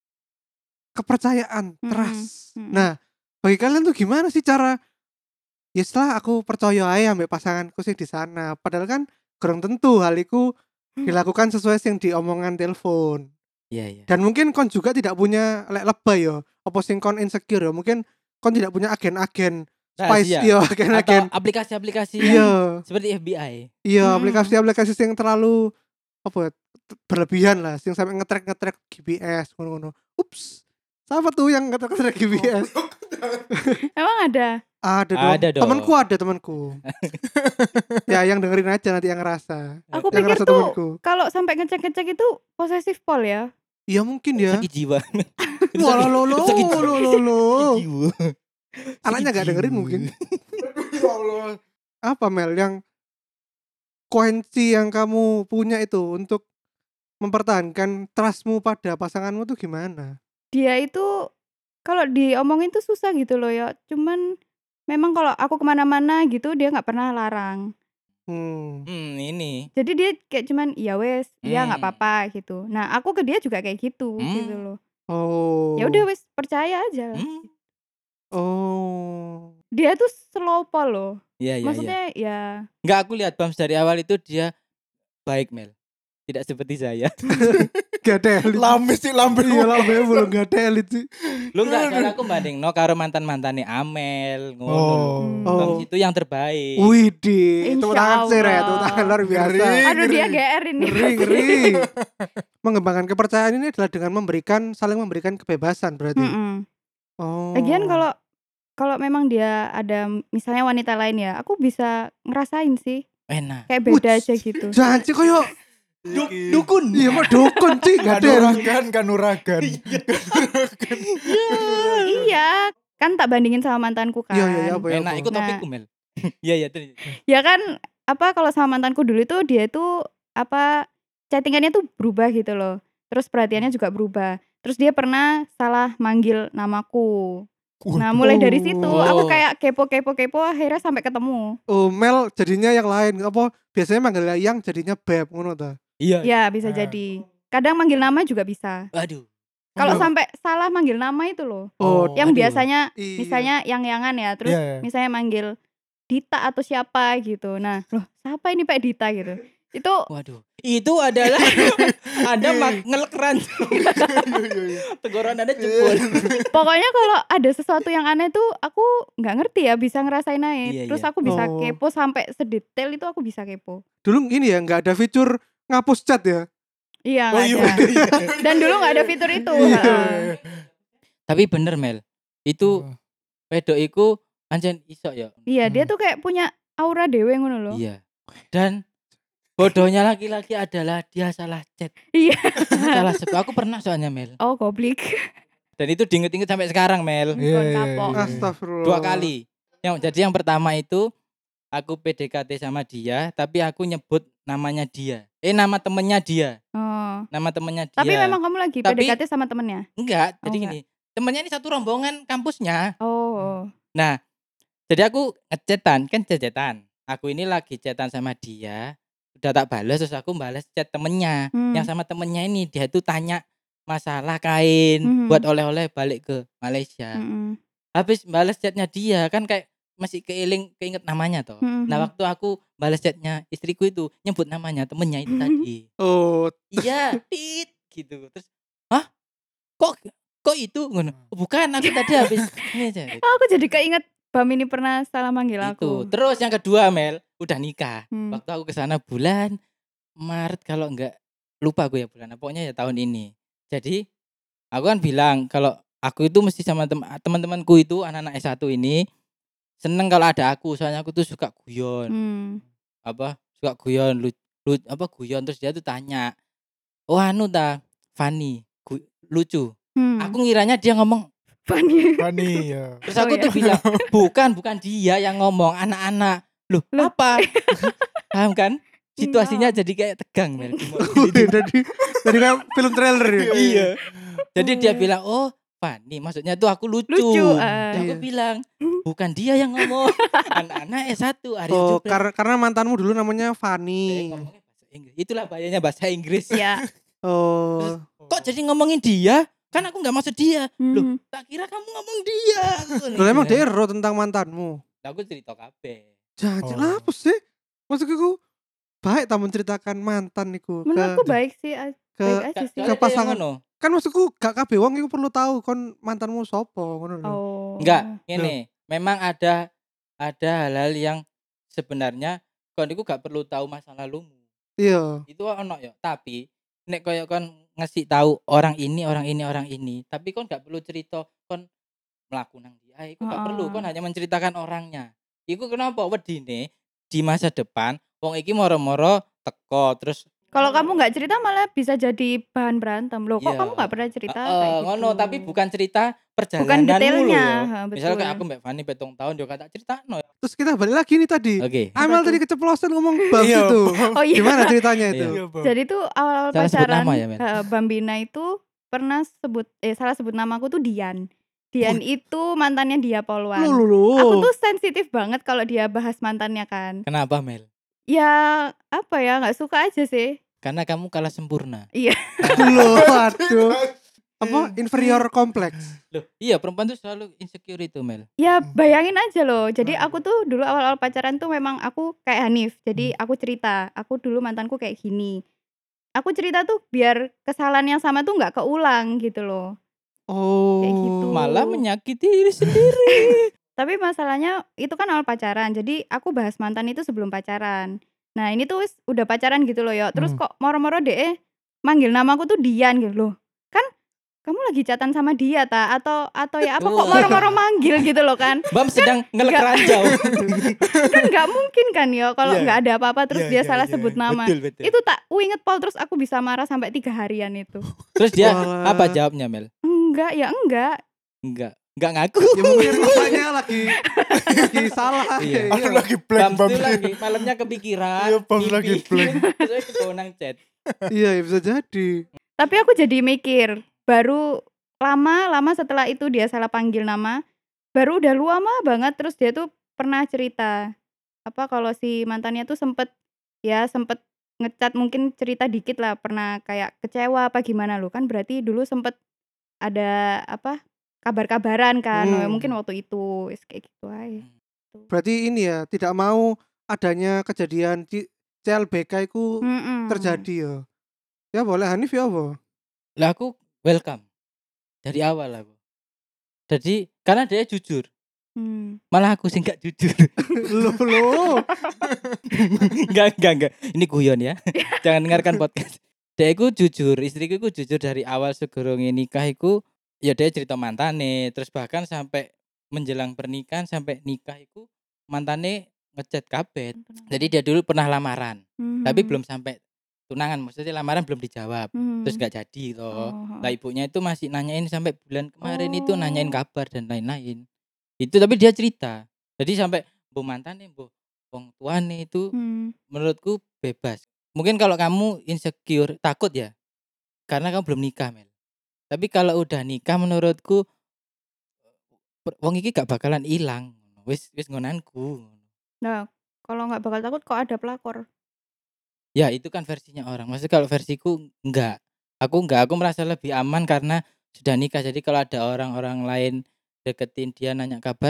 Kepercayaan, Mm-mm. trust. Mm-mm. Nah, bagi kalian tuh gimana sih cara ya setelah aku percaya aja ambek pasanganku sih di sana. Padahal kan kurang tentu hal itu dilakukan sesuai yang diomongan telepon. Iya, iya. Dan mungkin kon juga tidak punya lek lebay yo, apa sing kon insecure yo. Mungkin kon tidak punya agen-agen spice Rahasia. yo, Atau agen-agen. aplikasi-aplikasi yang Iya, seperti F B I. iya Mm-mm. aplikasi-aplikasi yang terlalu apa ya, t- berlebihan lah, yang sampai ngetrack-ngetrack G P S ngono-ngono. Ups. Siapa tuh yang ngetrack-ngetrack G P S? Emang ada? Ada dong. Ada dong. Temanku ada temanku. Ya yang dengerin aja nanti yang ngerasa. Aku Yang pikir ngerasa tuh temanku. kalau sampai ngecek-ngecek itu posesif pol ya. Iya mungkin ya. Sakit jiwa. Itu Wah sakit- lo lo itu sakit lo jiwa. lo lo. Sakit jiwa. Anaknya Sakit gak dengerin jiwa. mungkin. Ya Allah. Apa Mel yang kunci yang kamu punya itu untuk mempertahankan trustmu pada pasanganmu tuh gimana? Dia itu kalau diomongin tuh susah gitu loh ya. Cuman memang kalau aku kemana-mana gitu dia nggak pernah larang. Hmm. Hmm, ini. Jadi dia kayak cuman ya wes, ya nggak Hmm. apa-apa gitu. Nah aku ke dia juga kayak gitu Hmm. gitu loh. Oh. Ya udah wes percaya aja. lah. Hmm. Oh. Dia tuh slow pol loh. Iya, iya, iya. Maksudnya ya Enggak, aku lihat Bams dari awal itu dia baik, Mel. Tidak seperti saya. Gak ada elit. Lambe sih lambe. Iya lambe belum gak ada elit sih. Lu enggak salah aku banding no karo mantan-mantane Amel, ngono lho. Oh. Hmm. Oh. Bams itu yang terbaik. Widih, Insya tepuk tangan sih Re, Allah. tepuk tangan luar biasa. Ngeri. aduh dia ngeri. G R ini. Ngeri, ngeri. Mengembangkan kepercayaan ini adalah dengan memberikan, saling memberikan kebebasan berarti. Mm-mm. Oh. Lagian kalau kalau memang dia ada misalnya wanita lain ya, aku bisa ngerasain sih Enak. kayak beda Wuts. aja gitu. jangan sih koyo Du- Iki. dukun. iya kok dukun sih gak ada. Kanuragan, kanuragan. Iya, kan tak bandingin sama mantanku kan. Iya iya iya apa ya. Enak apa. ikut Nah. topikku, Mel. Iya, iya, terus. Ya kan apa kalau sama mantanku dulu itu dia tuh apa chattingannya tuh berubah gitu loh. Terus perhatiannya juga berubah. Terus dia pernah salah manggil namaku. Nah, mulai dari situ Oh. aku kayak kepo-kepo-kepo akhirnya sampai ketemu. Oh, Mel jadinya yang lain. Apa biasanya manggil yang jadinya beb ngono ta. Iya. Ya, bisa Ah. jadi. Kadang manggil nama juga bisa. Aduh. Kalau Oh. sampai salah manggil nama itu loh. Oh, Yang aduh. biasanya Iya. misalnya yang-yangan ya, terus Iya, iya. misalnya manggil Dita atau siapa gitu. Nah, loh, siapa ini Pak Dita gitu. Itu Waduh. Itu adalah Anda mak ngelekeran. Teguran Anda jebol. pokoknya kalau ada sesuatu yang aneh tuh aku nggak ngerti ya, bisa ngerasain aja. Iya, Terus iya. aku bisa Oh. kepo sampai sedetail itu aku bisa kepo. Dulu ini ya nggak ada fitur ngapus chat ya. Iya, Oh nggak iya. ada. Dan dulu nggak ada fitur itu. Iya. Heeh. Tapi bener, Mel. Itu Oh. wedok iku pancen iso ya. Iya, dia Hmm. tuh kayak punya aura dewe ngono loh. Iya. Dan bodohnya laki-laki adalah dia salah chat. Iya. Salah sebut. Aku pernah soalnya, Mel. Oh, goblik. Dan itu diinget-inget sampai sekarang, Mel. Iya, Kon iya, kapok. iya. Astagfirullah. Dua kali. Yang jadi yang pertama itu aku P D K T sama dia, tapi aku nyebut namanya dia. Eh nama temennya dia. Oh. Nama temennya dia. Tapi memang kamu lagi Tapi- P D K T sama temennya? enggak. Oh, Jadi enggak. gini, temennya ini satu rombongan kampusnya. Oh. Nah, jadi aku ngecetan, kan cetan. Aku ini lagi cetan sama dia, udah tak balas terus aku balas chat temennya. Hmm. Yang sama temennya ini dia tuh tanya masalah kain Mhm. buat oleh-oleh balik ke Malaysia. Mm-mm. Habis balas chatnya dia kan kayak masih keiling keinget namanya toh. Mhm. Nah waktu aku balas chatnya istriku itu nyebut namanya temennya itu tadi. Oh, Iya, tit gitu. Terus, hah? Kok kok itu ngono? "Oh, bukan, aku tadi habis ini aja. Gitu. Oh, aku jadi keinget Bam ini pernah salah manggil Itu. aku. Terus yang kedua Mel, udah nikah. Hmm. Waktu aku ke sana bulan Maret kalau enggak lupa aku ya bulan. Pokoknya ya tahun ini. Jadi aku kan bilang kalau aku itu mesti sama tem- teman-temanku itu anak-anak S satu ini seneng kalau ada aku, soalnya aku tuh suka guyon. Hmm. Apa? Suka guyon, lu, lu- apa guyon terus dia tuh tanya, "Oh anu ta, Fanny, gu- lucu." Hmm. Aku ngiranya dia ngomong. Funny. Fani ya. Terus Oh, aku iya. tuh bilang, "Bukan, bukan dia yang ngomong, anak-anak." Loh, Loh. apa? Paham kan? Situasinya jadi kayak tegang, Mel. jadi jadi kayak film trailer ya. Iya. Jadi dia Oh. bilang, "Oh, Fanny, maksudnya tuh aku lucu." Lucu, Terus ah. aku Iya. bilang, "Bukan dia yang ngomong, anak-anak S satu." Arya Oh, Jubrek. karena karena mantanmu dulu namanya Saya Fanny. ngomongnya bahasa Inggris. Itulah bahayanya bahasa Inggris. Ya. Oh, Kok jadi ngomongin dia? Kan aku nggak maksud dia. Loh, Mhm. tak kira kamu ngomong dia. lo emang dia ero tentang mantanmu. Aku cerita kabeh. Jangan Oh. apa sih? Maksudku baik tak menceritakan mantan iku Menurutku ke baik sih, a- ke baik aja Ka- sih. soalnya dia yang pasangan. ngono. kan maksudku gak kabeh wong iku perlu tahu kon mantanmu sopo ngono lho. Oh. Enggak, ini memang ada ada hal-hal yang sebenarnya kon iku gak perlu tahu masa lalumu. Iya. Itu ono ya, tapi nek koyo kon ngasih tahu orang ini, orang ini, orang ini, tapi kon gak perlu cerita kon mlaku nang dia. Iku gak perlu, Heeh. kon hanya menceritakan orangnya. Iku kenapa wedine di masa depan wong iki moro-moro teko terus Kalau kamu nggak cerita malah bisa jadi bahan berantem. Loh, kok Iya. kamu nggak pernah cerita Heeh, kayak gitu? ngono, tapi bukan cerita Bukan perjalananmu detailnya. lho ya. Ha, Misalnya kayak betul. aku Mbak Fani petong tahun yo kata ceritano. Terus kita balik lagi nih tadi. Oke. Amel Apa tadi tuh? keceplosan ngomong Bams Iya, itu. Oh iya. Gimana ceritanya itu? Iya. Bang. Jadi tuh awal Salah sebut pacaran nama ya, Mel? heeh, Bambina itu pernah sebut eh salah sebut namaku tuh Dian. Dian itu mantannya Dia Polwan. Lu lu lu. Aku tuh sensitif banget kalau dia bahas mantannya kan. Kenapa Mel? Ya apa ya, nggak suka aja sih. Karena kamu kalah sempurna. Iya. Loh, aduh. Apa inferior kompleks? Loh, iya perempuan tuh selalu insecure itu Mel. Ya bayangin aja loh. Jadi Hmm. aku tuh dulu awal-awal pacaran tuh memang aku kayak Hanif. Jadi aku cerita, aku dulu mantanku kayak gini. Aku cerita tuh biar kesalahan yang sama tuh nggak keulang gitu loh. Oh. Kayak gitu. Malah menyakiti diri sendiri. Tapi masalahnya itu kan awal pacaran. Jadi aku bahas mantan itu sebelum pacaran. Nah ini tuh wis udah pacaran gitu loh ya. Terus Hmm. kok moro-moro deh manggil namaku tuh Dian gitu loh. Kan kamu lagi chatan sama dia ta atau atau ya apa kok Oh. moro-moro manggil gitu loh kan. Bam sedang ngelek nggak- ranjau. Kan nggak mungkin kan ya kalau Iya. nggak ada apa-apa terus Iya, dia iya, salah iya. sebut nama. Betul, betul. Itu tak inget Pol terus aku bisa marah sampai tiga harian itu. Terus dia Walah. apa jawabnya Mel? Enggak ya enggak. Enggak. Enggak ngaku. Ya mungkin rasanya lagi lagi salah. Iya. Aku lagi blank Bam Bam. tuh lagi malamnya kepikiran. Iya, Bam mimpi. lagi blank. Terus kebawa nang chat. Iya, ya bisa jadi. Tapi aku jadi mikir, baru lama-lama setelah itu dia salah panggil nama, baru udah lama banget terus dia tuh pernah cerita apa kalau si mantannya tuh sempet ya sempet ngecat mungkin cerita dikit lah pernah kayak kecewa apa gimana lo kan berarti dulu sempet ada apa kabar-kabaran kan Hmm. ya mungkin waktu itu wis kayak gitu aja. Berarti ini ya tidak mau adanya kejadian C- CLBK itu Mm-mm. terjadi ya. Ya boleh Hanif ya apa? Lah aku welcome. Dari awal aku. Jadi karena dia jujur. Hmm. Malah aku sih enggak jujur. Loh loh. Enggak, enggak, enggak. Ini guyon ya. Jangan dengarkan podcast. Dia iku jujur, istriku iku jujur dari awal segorong nikah iku ya dia cerita mantane, terus bahkan sampai menjelang pernikahan sampai nikah iku mantane ngechat kabeh. Jadi dia dulu pernah lamaran, Mhm. tapi belum sampai tunangan, maksudnya lamaran belum dijawab. Mhm. Terus gak jadi toh. Oh, Lah ibunya itu masih nanyain sampai bulan kemarin itu Oh. nanyain kabar dan lain-lain. Itu tapi dia cerita. Jadi sampai bu mantane bu wong tuane itu Hmm. menurutku bebas. Mungkin kalau kamu insecure, takut ya. Karena kamu belum nikah, Mel. Tapi kalau udah nikah menurutku per- wong iki gak bakalan hilang. Wis wis ngonanku. Nah, kalau nggak bakal takut kok ada pelakor. Ya, itu kan versinya orang. Maksudnya kalau versiku enggak. Aku enggak, aku merasa lebih aman karena sudah nikah. Jadi kalau ada orang-orang lain deketin dia nanya kabar,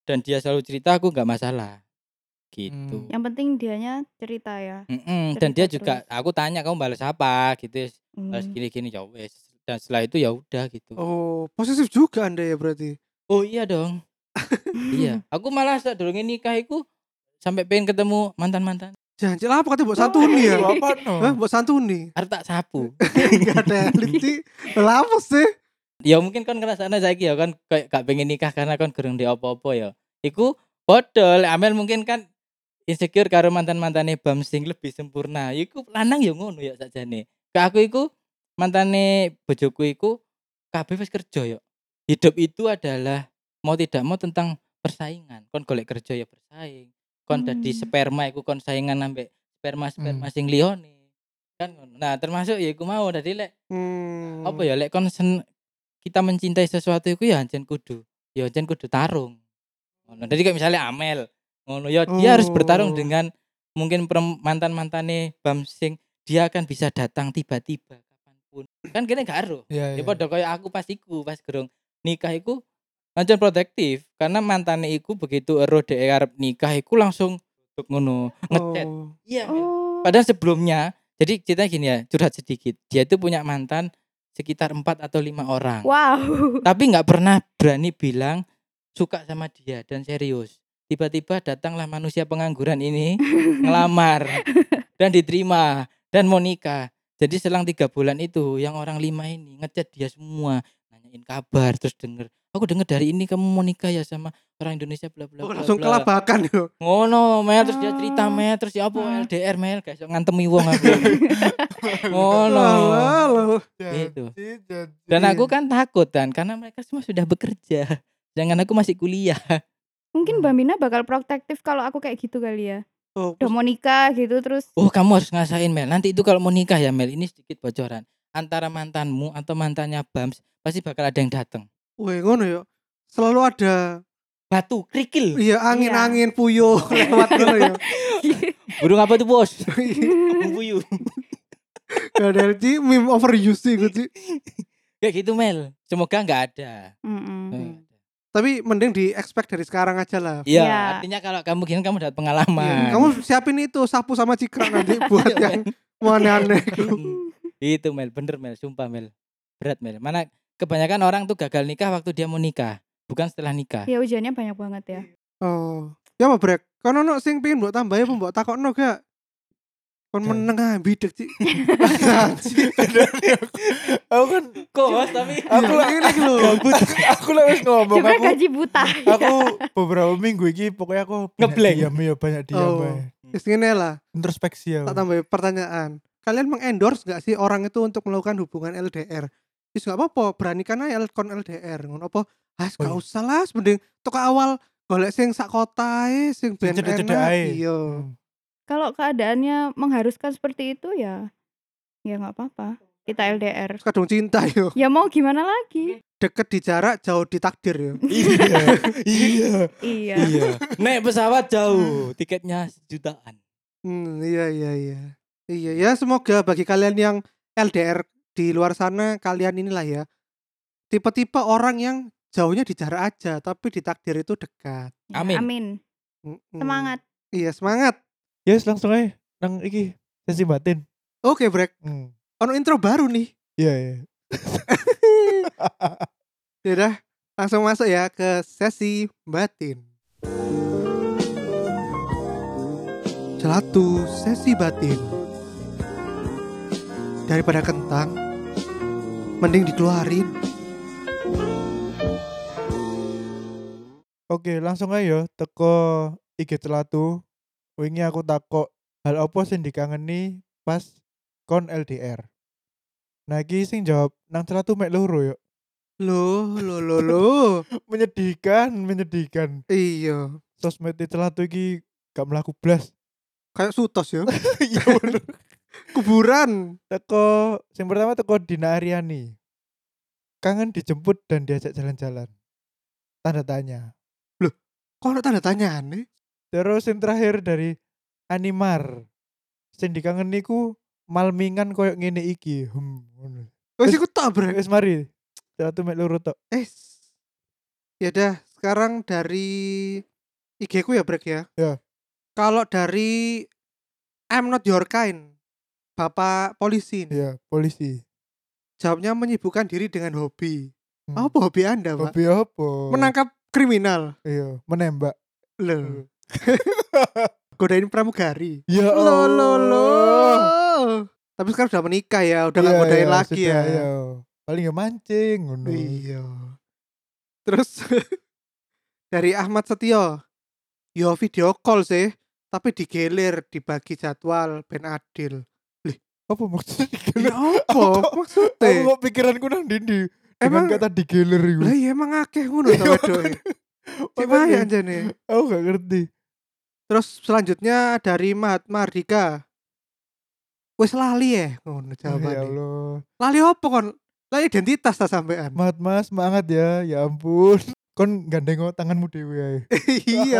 dan dia selalu cerita, aku nggak masalah. Gitu. Hmm. Yang penting dianya cerita ya. Mm-mm, dan dia Cerita juga terus. aku tanya kamu balas apa gitu. Balas Hmm. gini-gini ya wes. Dan setelah itu ya udah gitu. Oh, posesif juga Anda ya berarti. Oh iya dong. Iya, aku malah saat dulu nikah iku sampai pengen ketemu mantan-mantan. Jangan lah apa katanya buat santuni ya? Lu apa no? Hah, buat santuni. Arep tak sapu. Enggak ada elit. Lah apa sih? Ya mungkin kan ngrasakne saiki ya kan kayak gak pengen nikah karena kan gerung di apa-apa ya. Iku padha lek Amel mungkin kan insecure karo mantan-mantane Bam sing lebih sempurna. Iku lanang ya ngono ya sakjane. Ke aku iku mantane bojoku iku kabeh wis kerja ya. Hidup itu adalah mau tidak mau tentang persaingan. Kon golek kerja ya bersaing. Kon dadi Hmm. sperma iku kon saingan ambek sperma-sperma Hmm. sing liyane. Kan ngono. Nah, termasuk ya iku mau dadi lek Hmm. apa ya lek kon sen, kita mencintai sesuatu itu ya ancen kudu ya ancen kudu tarung ngono. Jadi kayak misalnya Amel ngono ya dia harus bertarung Oh. dengan mungkin mantan-mantane Bam sing dia akan bisa datang tiba-tiba kapanpun kan kene gak ero Iya, ya iya. padha kaya aku pas iku pas gerung nikah iku ancen protektif karena mantane iku begitu ero dhek arep nikah iku langsung ngono ngechat Oh. iya Mel. Oh. Padahal sebelumnya jadi ceritanya gini ya curhat sedikit dia itu punya mantan sekitar empat atau lima orang. Wow. Tapi nggak pernah berani bilang suka sama dia dan serius. Tiba-tiba datanglah manusia pengangguran ini ngelamar dan diterima dan mau nikah. Jadi selang tiga bulan itu yang orang lima ini ngechat dia semua, nanyain kabar terus denger. Aku denger dari ini kamu mau nikah ya sama orang Indonesia bla bla Oh, bla langsung bla. kelabakan yo. Ngono, Mel terus dia cerita Oh. Mel terus ya apa Hmm. L D R Mel gak iso ngantemi wong aku. Ngono. Halo. Gitu. Janji, janji. Dan aku kan takut kan karena mereka semua sudah bekerja. Jangan aku masih kuliah. Mungkin Hmm. Mbak Mina bakal protektif kalau aku kayak gitu kali ya. Oh, Udah mau nikah gitu terus. Oh, kamu harus ngasain Mel. Nanti itu kalau mau nikah ya Mel, ini sedikit bocoran. Antara mantanmu atau mantannya Bams pasti bakal ada yang datang. weh ngono yo. Selalu ada Batu, kerikil. iya angin-angin puyuh lewat ngono yo. Burung apa tuh bos? Burung puyuh. Gak ada Ci, meme overuse sih gue Ci. Kayak gitu Mel. Semoga nggak ada. Mm-mm. Semoga nggak ada. Tapi mending di expect dari sekarang aja lah. Iya, Iya. artinya kalau kamu gini kamu dapat Iya, pengalaman. kamu siapin itu sapu sama cikra nanti buat Iya, yang mau aneh-aneh. Mm. Itu Mel, bener Mel, sumpah Mel. Berat Mel. Mana kebanyakan orang tuh gagal nikah waktu dia mau nikah, bukan setelah nikah. Ya ujiannya banyak banget ya. Oh, ya apa brek? Kono no sing pengen mbok tambahi apa mbok takokno gak? Kon Gak. meneng ah bidek Ci. Aku kan Kos tapi aku lah ini lho. gabut. Aku lah wis ngomong Juga aku. gaji buta. Aku beberapa minggu iki pokoknya aku banyak Ngeblank. diam ya banyak diam Oh. ae. Wis ngene lah. Introspeksi ya. Tak tambahi pertanyaan. Kalian mengendorse gak sih orang itu untuk melakukan hubungan L D R? Wis gak apa-apa, beranikan aja kon L D R. Ngono apa? Ah, gak Oh, iya. usah lah, mending tok awal golek sing sak kota ae, sing ben Cedek-cedek enak. ae. Iya. Hmm. Kalau keadaannya mengharuskan seperti itu ya ya nggak apa-apa. Kita L D R. Kadung cinta yo. Ya mau gimana lagi? Deket di jarak, jauh di takdir yo. Iya. Iya. Iya. iya. Naik pesawat jauh, tiketnya sejutaan. Hmm, iya iya iya. Iya ya, semoga bagi kalian yang L D R di luar sana kalian inilah ya. Tipe-tipe orang yang jauhnya di jarak aja tapi di takdir itu dekat. Ya, Amin. Amin. Mm-mm. Semangat. Iya, semangat. Yes, langsung aja nang iki sesi batin. Oke, Brek. Hmm. Ono intro baru nih. Iya, iya. Yaudah, langsung masuk ya ke sesi batin. Celatu sesi batin. Daripada kentang, mending dikeluarin. Oke, langsung aja yo teko I G Celatu. Wingi aku takok hal apa sing dikangeni pas kon L D R. Nah, iki sing jawab nang Celatu mek loro yo. Loh, loh, loh, loh. Menyedihkan, menyedihkan. Iya, Sosmed Celatu iki gak mlaku blas. kayak sutos ya. Iya bener. Kuburan. Teko sing pertama teko Dina Aryani. Kangen dijemput dan diajak jalan-jalan. Tanda tanya. Kok ada tanda tanya nih? Terus yang terakhir dari Animar. Sing dikangeni ku malmingan koyo ngene iki. Hmm, ngono. Wes Wes- ikut tak, Brek. Wis mari. Celatu mek loro tok. Eh, ya dah. sekarang dari I G ku ya Brek ya. Ya. Kalau dari I'm not your kind, Bapak polisi nih. Iya, polisi. Jawabnya menyibukkan diri dengan hobi. Hmm. Apa hobi Anda, Pak? Hobi apa? Menangkap kriminal. Iya, menembak. Loh. Godain pramugari. Ya Loh, loh, Allah. loh. Tapi sekarang udah menikah ya, udah gak Iya, godain iya, lagi sudah, ya. Iya. Paling ya mancing ngono. Iya. Terus dari Ahmad Setio, yo video call sih, tapi digelir, dibagi jadwal ben adil. Apa maksudnya Ya digelir? apa Aku maksudnya? kok pikiranku nang dindi dengan Emang- kata digelir iku. Lah iya emang akeh ngono to wedoke. Cek wae Makanya, anjane. Aku gak ngerti. Terus selanjutnya dari Mahatma Mardika. Wis lali ya ngono Ya jawabane. Allah. Lali opo kon? Lah identitas ta sampean. Mat Mas semangat ya. Ya ampun. Kon gandeng tanganmu dhewe ae. Iya.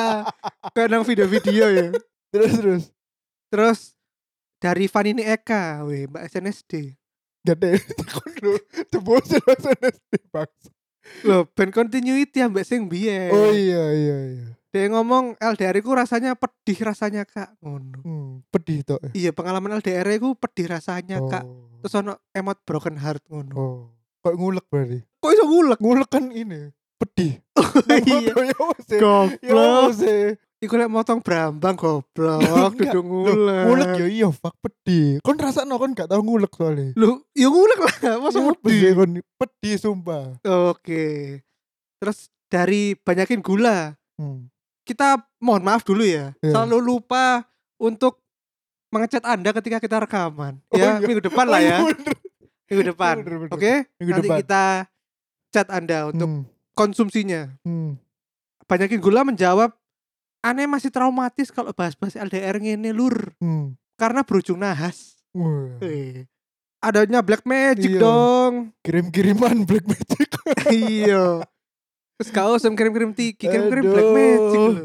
Kayak nang video-video ya. Terus terus. Terus dari Vanini Eka, weh Mbak S N S D. Gak deh. Kon lho. Jebol S N S D bangsa. Loh, ben continuity ambek sing biyen. Oh iya iya iya. Dia ngomong L D R ku rasanya pedih rasanya Kak, ngono. Hmm, pedih tok. ya? Iya, pengalaman L D R ku pedih rasanya Oh. Kak. Terus ono emot broken heart ngono. Oh. Kok ngulek berarti? Kok iso ngulek? Ngulek kan ini. Pedih. Iya. Ya wes. Ya Goblok. wes. Iku lek motong brambang goblok, Enggak. duduk ngulek. Ngulek ya iya fuck pedih. Kon rasakno kon gak tau ngulek soalnya. Lu, ya ngulek lah, masa Iya, pedih. pedih kon pedih sumpah. Oke. Terus dari banyakin gula, Hmm. kita mohon maaf dulu ya. Iya. Selalu lupa untuk mengecat Anda ketika kita rekaman. Oh Ya, iya. minggu depan lah Oh ya. iya, bener. Minggu depan. Bener, bener. Oke? Minggu Nanti depan. kita chat Anda untuk Hmm. konsumsinya. Hmm. Banyakin gula menjawab, aneh masih traumatis kalau bahas-bahas L D R ngene lur. Hmm. Karena berujung nahas. Wah. Eh. Adanya black magic Iya. dong. Kirim-kiriman black magic. Iya. Terus kau usah kirim-kirim tiki, kirim-kirim black Aduh. magic lho.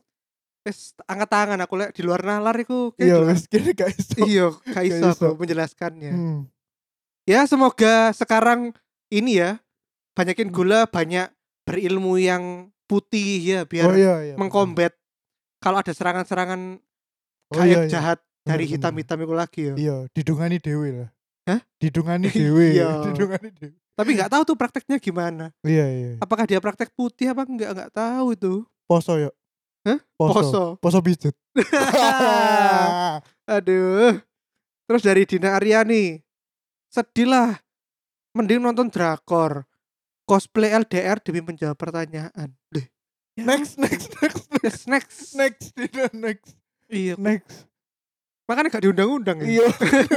Wes angkat tangan aku lek di luar nalar iku. kayak Iya, jelas. wes kira gak iso. Iya, gak iso Gak iso. aku menjelaskannya. Hmm. Ya semoga sekarang ini ya banyakin Hmm. gula, banyak berilmu yang putih ya biar Oh iya iya. mengkombat kalau ada serangan-serangan Oh, kayak iya, iya. jahat dari Bener, hitam-hitam itu lagi ya. Iya, didungani dewe lah. Hah? Didungani dewe. Iya. Didungani dewe. Tapi nggak tahu tuh prakteknya gimana. Iya iya. Apakah dia praktek putih apa enggak nggak tahu itu. Poso ya. Hah? Poso. Poso. Poso pijet. Aduh. Terus dari Dina Aryani. Sedih lah. Mending nonton drakor. Cosplay L D R demi menjawab pertanyaan. Deh. Ya, Next next next next Next, next. next tidak next Iya. next. Makanya gak diundang-undang ya. Iya.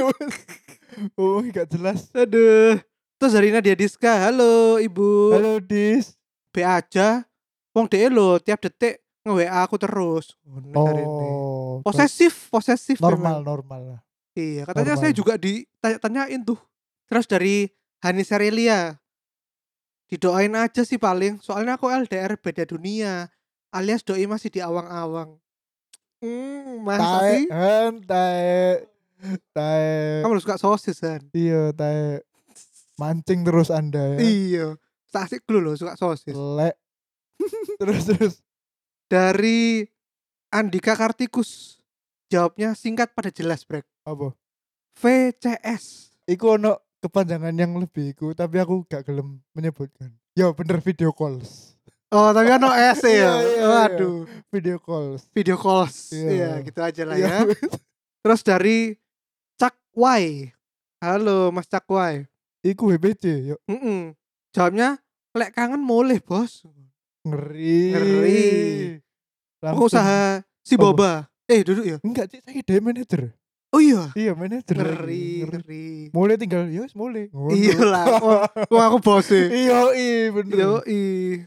Oh, gak jelas. Aduh. Terus dari Nadia Diska. Halo ibu. Halo Dis. B aja. Wong deh lo tiap detik nge-W A aku terus. Ngono jarene. Oh. Posesif, posesif. Normal memang. normal lah. Iya, katanya Normal. saya juga ditanya-tanyain tuh. Terus dari Hani Serelia. Didoain aja sih paling. Soalnya aku L D R beda dunia. Alias doi masih di awang-awang. Hmm, masa Tae, sih? han, tae. Tae. Kamu suka sosis kan? Iya, tae. Mancing terus Anda ya. Iya. Asik dulu loh suka sosis. Lek. Terus terus. Dari Andika Kartikus. Jawabnya singkat pada jelas, Brek. Apa? V C S. Iku ono kepanjangan yang lebih iku, tapi aku gak gelem menyebutkan. Ya bener video calls. Oh, tapi kan no S ya. Iya, iya, iya. Waduh. Video calls. Video calls. Iya. Iya, gitu aja lah Iya, ya. Terus dari Cak Wai. Halo Mas Cak Wai. Iku W B C, yuk. Mm-mm. Jawabnya lek kangen boleh, Bos. Ngeri. Ngeri. Langsung. Pengusaha si Apa? Boba. Eh, duduk ya. Enggak, Cik, saya dia manajer. Oh iya. Iya, manajer. Ngeri, Ngeri. ngeri. Mulai tinggal, ya wis mulai. Ngono. Iya lah. Wah, wah aku bos e. Iya, iya bener. Yo i.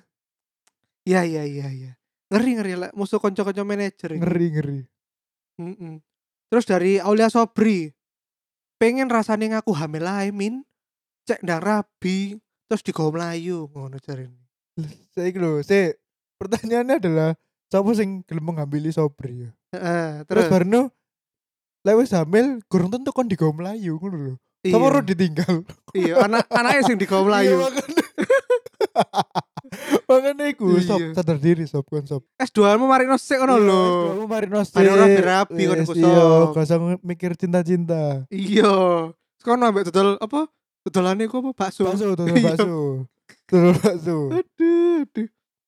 Iya iya iya iya. Ngeri ngeri lah musuh konco-konco manajer ini. Ngeri, ngeri. Mm-mm. Terus dari Aulia Sobri. Pengen rasane ngaku hamil ae min. Cek ndang rabi terus digawa mlayu ngono jarene. Saya lho, saya pertanyaannya adalah siapa sing gelem mengambil Sobri ya? Heeh, Terus terus barno lewis hamil gurung tentu kon digawa melayu ngono lho. iya. Sama ro ditinggal. Iya, anak anaknya sing digawa mlayu. Iya, makanya. Makanya iku iku Iya. sob sadar diri sob kon sob. S dua mu mari nosek ngono lho. Kamu mari nose. Mari ora berapi kon iku, Iya, Sob. gak usah mikir cinta-cinta. Iya. Sekono ambek dodol apa? Dodolane iku apa? Bakso. Bakso, tutul Iya. bakso. Tutul bakso. Aduh, aduh.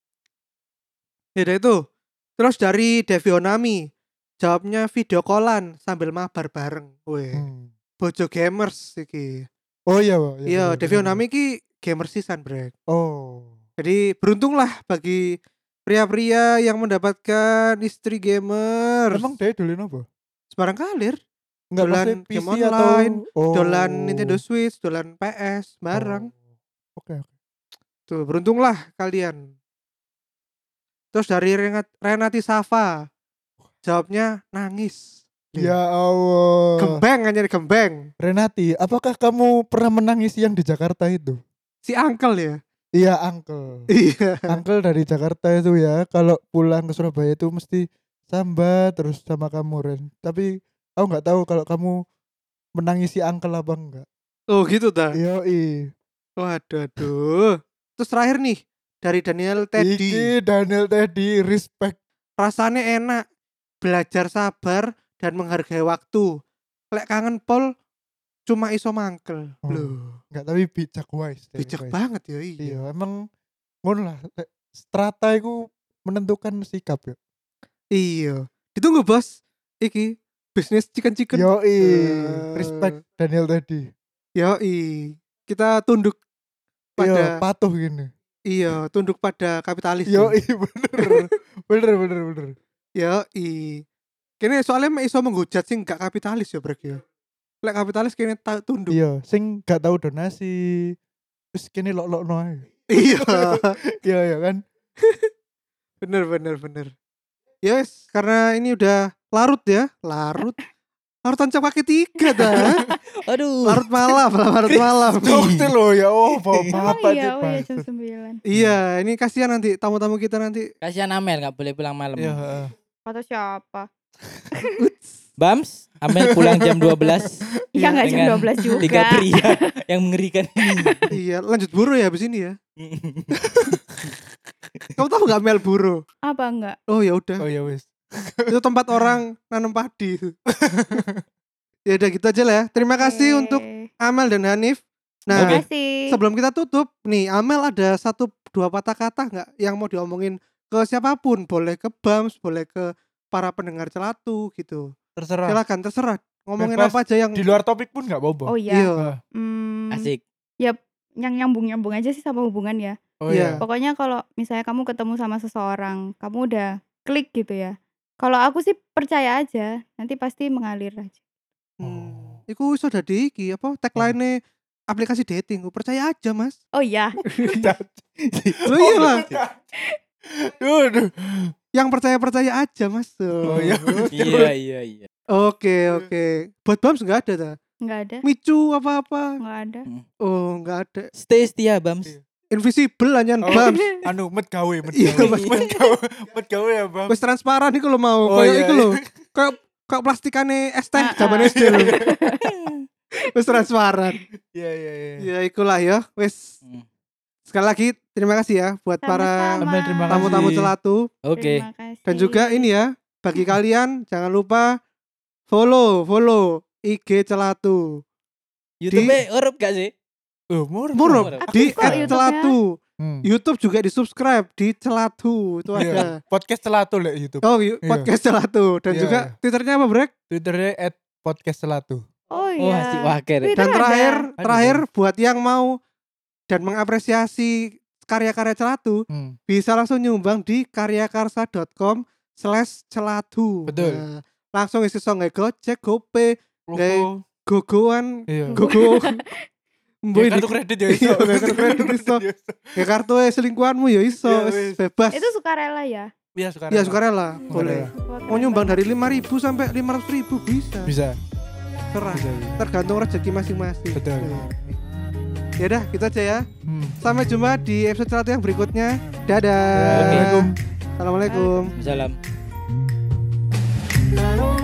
Ya udah itu. Terus dari Devionami, jawabnya video callan sambil mabar bareng. Weh, Hmm. bojo gamers iki. Oh iya, Pak. Iya, Devionami iki gamers sisan, Brek. Oh. Jadi beruntunglah bagi pria-pria yang mendapatkan istri gamer. Emang dia dolen apa? Sebarang kalir, Enggak dolan maksudnya P C game atau online, oh. dolan Nintendo Switch, dolan P S, bareng. Oh. Oke, oke. Tuh, beruntunglah kalian. Terus dari Renat- Renati Safa, jawabnya nangis. Ya Allah. Gembeng aja gembeng. Renati, apakah kamu pernah menangis yang di Jakarta itu? Si uncle ya. Iya, uncle. Iya. Uncle dari Jakarta itu ya, kalau pulang ke Surabaya itu mesti sambat terus sama kamu, Ren. Tapi aku nggak tahu kalau kamu menangisi uncle apa enggak. Oh gitu dah. Yoi. Waduh, aduh. Terus terakhir nih dari Daniel Teddy. Iki Daniel Teddy, respect. Rasanya enak, belajar sabar dan menghargai waktu. Lek kangen pol cuma iso mangkel. Oh, Loh, Enggak, tapi bijak wise. deh, bijak wise. banget ya iya. Iya, emang ngono lah. Lek strata itu menentukan sikap ya. Iya. Ditunggu bos. Iki bisnis chicken-chicken. Yoi, Eh. respect Daniel Teddy. Yoi. Kita tunduk Iya, pada patuh gini. iya, tunduk pada kapitalis. Yoi, bener. bener, bener, bener. Yoi. Kene soalnya mek iso menghujat sing gak kapitalis ya, Brek ya. Lek kapitalis kene ta- tunduk. Iya, sing gak tahu donasi. Terus kini lok-lokno ae. Iya. Iya, iya kan? Bener bener bener. Yes, karena ini udah larut ya, larut. Larutan cap kaki tiga dah. Aduh. Larut malam, larut malam. Dokter lo ya, oh Emang bapak iya, oh iya Pak. jam sembilan. Iya, ini kasihan nanti tamu-tamu kita nanti. Kasihan Amel nggak boleh pulang malam. Iya, heeh. Kata siapa? Bams, Amel pulang jam dua belas Iya enggak jam Dengan dua belas juga. tiga pria yang mengerikan ini. Iya, lanjut buru ya habis ini ya. Kamu tahu nggak Mel buru? Apa enggak? Oh ya udah. Oh ya wis. Itu tempat orang nanam padi. Ya udah gitu aja lah ya. Terima kasih Oke. untuk Amel dan Hanif. Nah, Oke. Makasih. sebelum kita tutup nih, Amel ada satu dua patah kata nggak yang mau diomongin ke siapapun? Boleh ke Bams, boleh ke para pendengar Celatu gitu. Terserah. Silakan terserah. Ngomongin Bebas. apa aja yang Di luar topik pun gak apa-apa. Oh iya. Iya. Hmm, Asik. yang nyambung-nyambung aja sih sama hubungan ya. Oh Iya. iya. Pokoknya kalau misalnya kamu ketemu sama seseorang, kamu udah klik gitu ya. Kalau aku sih percaya aja, nanti pasti mengalir aja. Hmm. Iku sudah di iki apa tagline aplikasi dating. Percaya aja, Mas. Oh iya. Lo iya lah. Aduh. Yang percaya-percaya aja, Mas. Oh iya. Iya iya iya. Oke, oke. Buat Bams enggak ada ta? Enggak ada. Micu apa-apa. Enggak ada. Oh, enggak ada. Stay setia Bams. Iya. Invisible anyan Oh. Bams. Anu met gawe, met Iya, gawe. Mas. Met gawe, met gawe ya, Bang. Wis transparan iku lho mau. Oh, Kayak iya, iku lho. iya. Kayak kayak plastikane es teh Ah, zaman ah. S D lho. Wis transparan. Iya, iya, iya. Ya ikulah ya. Wis Hmm. sekali lagi terima kasih ya buat para Sama-sama. Amel, terima kasih. tamu-tamu Celatu. Oke. Terima kasih. Dan juga ini ya, bagi kalian jangan lupa follow, follow I G Celatu. YouTube-nya urup gak sih? Oh, murah. Murah Murah. di Aktif kok at YouTube-nya. Celatu. Hmm. YouTube juga di subscribe di Celatu. Itu Iya. ada. Podcast Celatu lek YouTube. Oh, yu- Iya. podcast Celatu. Dan Iya, juga iya. Twitternya apa, Brek? Twitternya at podcast Celatu. Oh Oh, iya. masih waker. Twitter Dan ada. terakhir, Ada, terakhir buat yang mau dan mengapresiasi karya-karya Celatu, Hmm. bisa langsung nyumbang di karyakarsa dot com slash celatu. Betul. Nah, langsung isi song Gojek, GoPay, Logo. gogoan, Iya. gogo. Ya, Mbok kartu di- kredit ya Iya, iso. kartu kredit iso. Ya kartu e selingkuhanmu ya iso, Iya, wis wis. bebas. Itu sukarela ya? Iya, sekarang. Iya, sukarela, boleh. Sukarela. Wah, Mau keren nyumbang banget. dari lima ribu sampai lima ratus ribu bisa. Bisa. Terah. Bisa. bisa. Tergantung rezeki masing-masing. Betul. Ya udah, gitu aja ya. Hmm. Sampai jumpa di episode Celatu yang berikutnya. Dadah. Assalamualaikum. Assalamualaikum. Salam. Lalu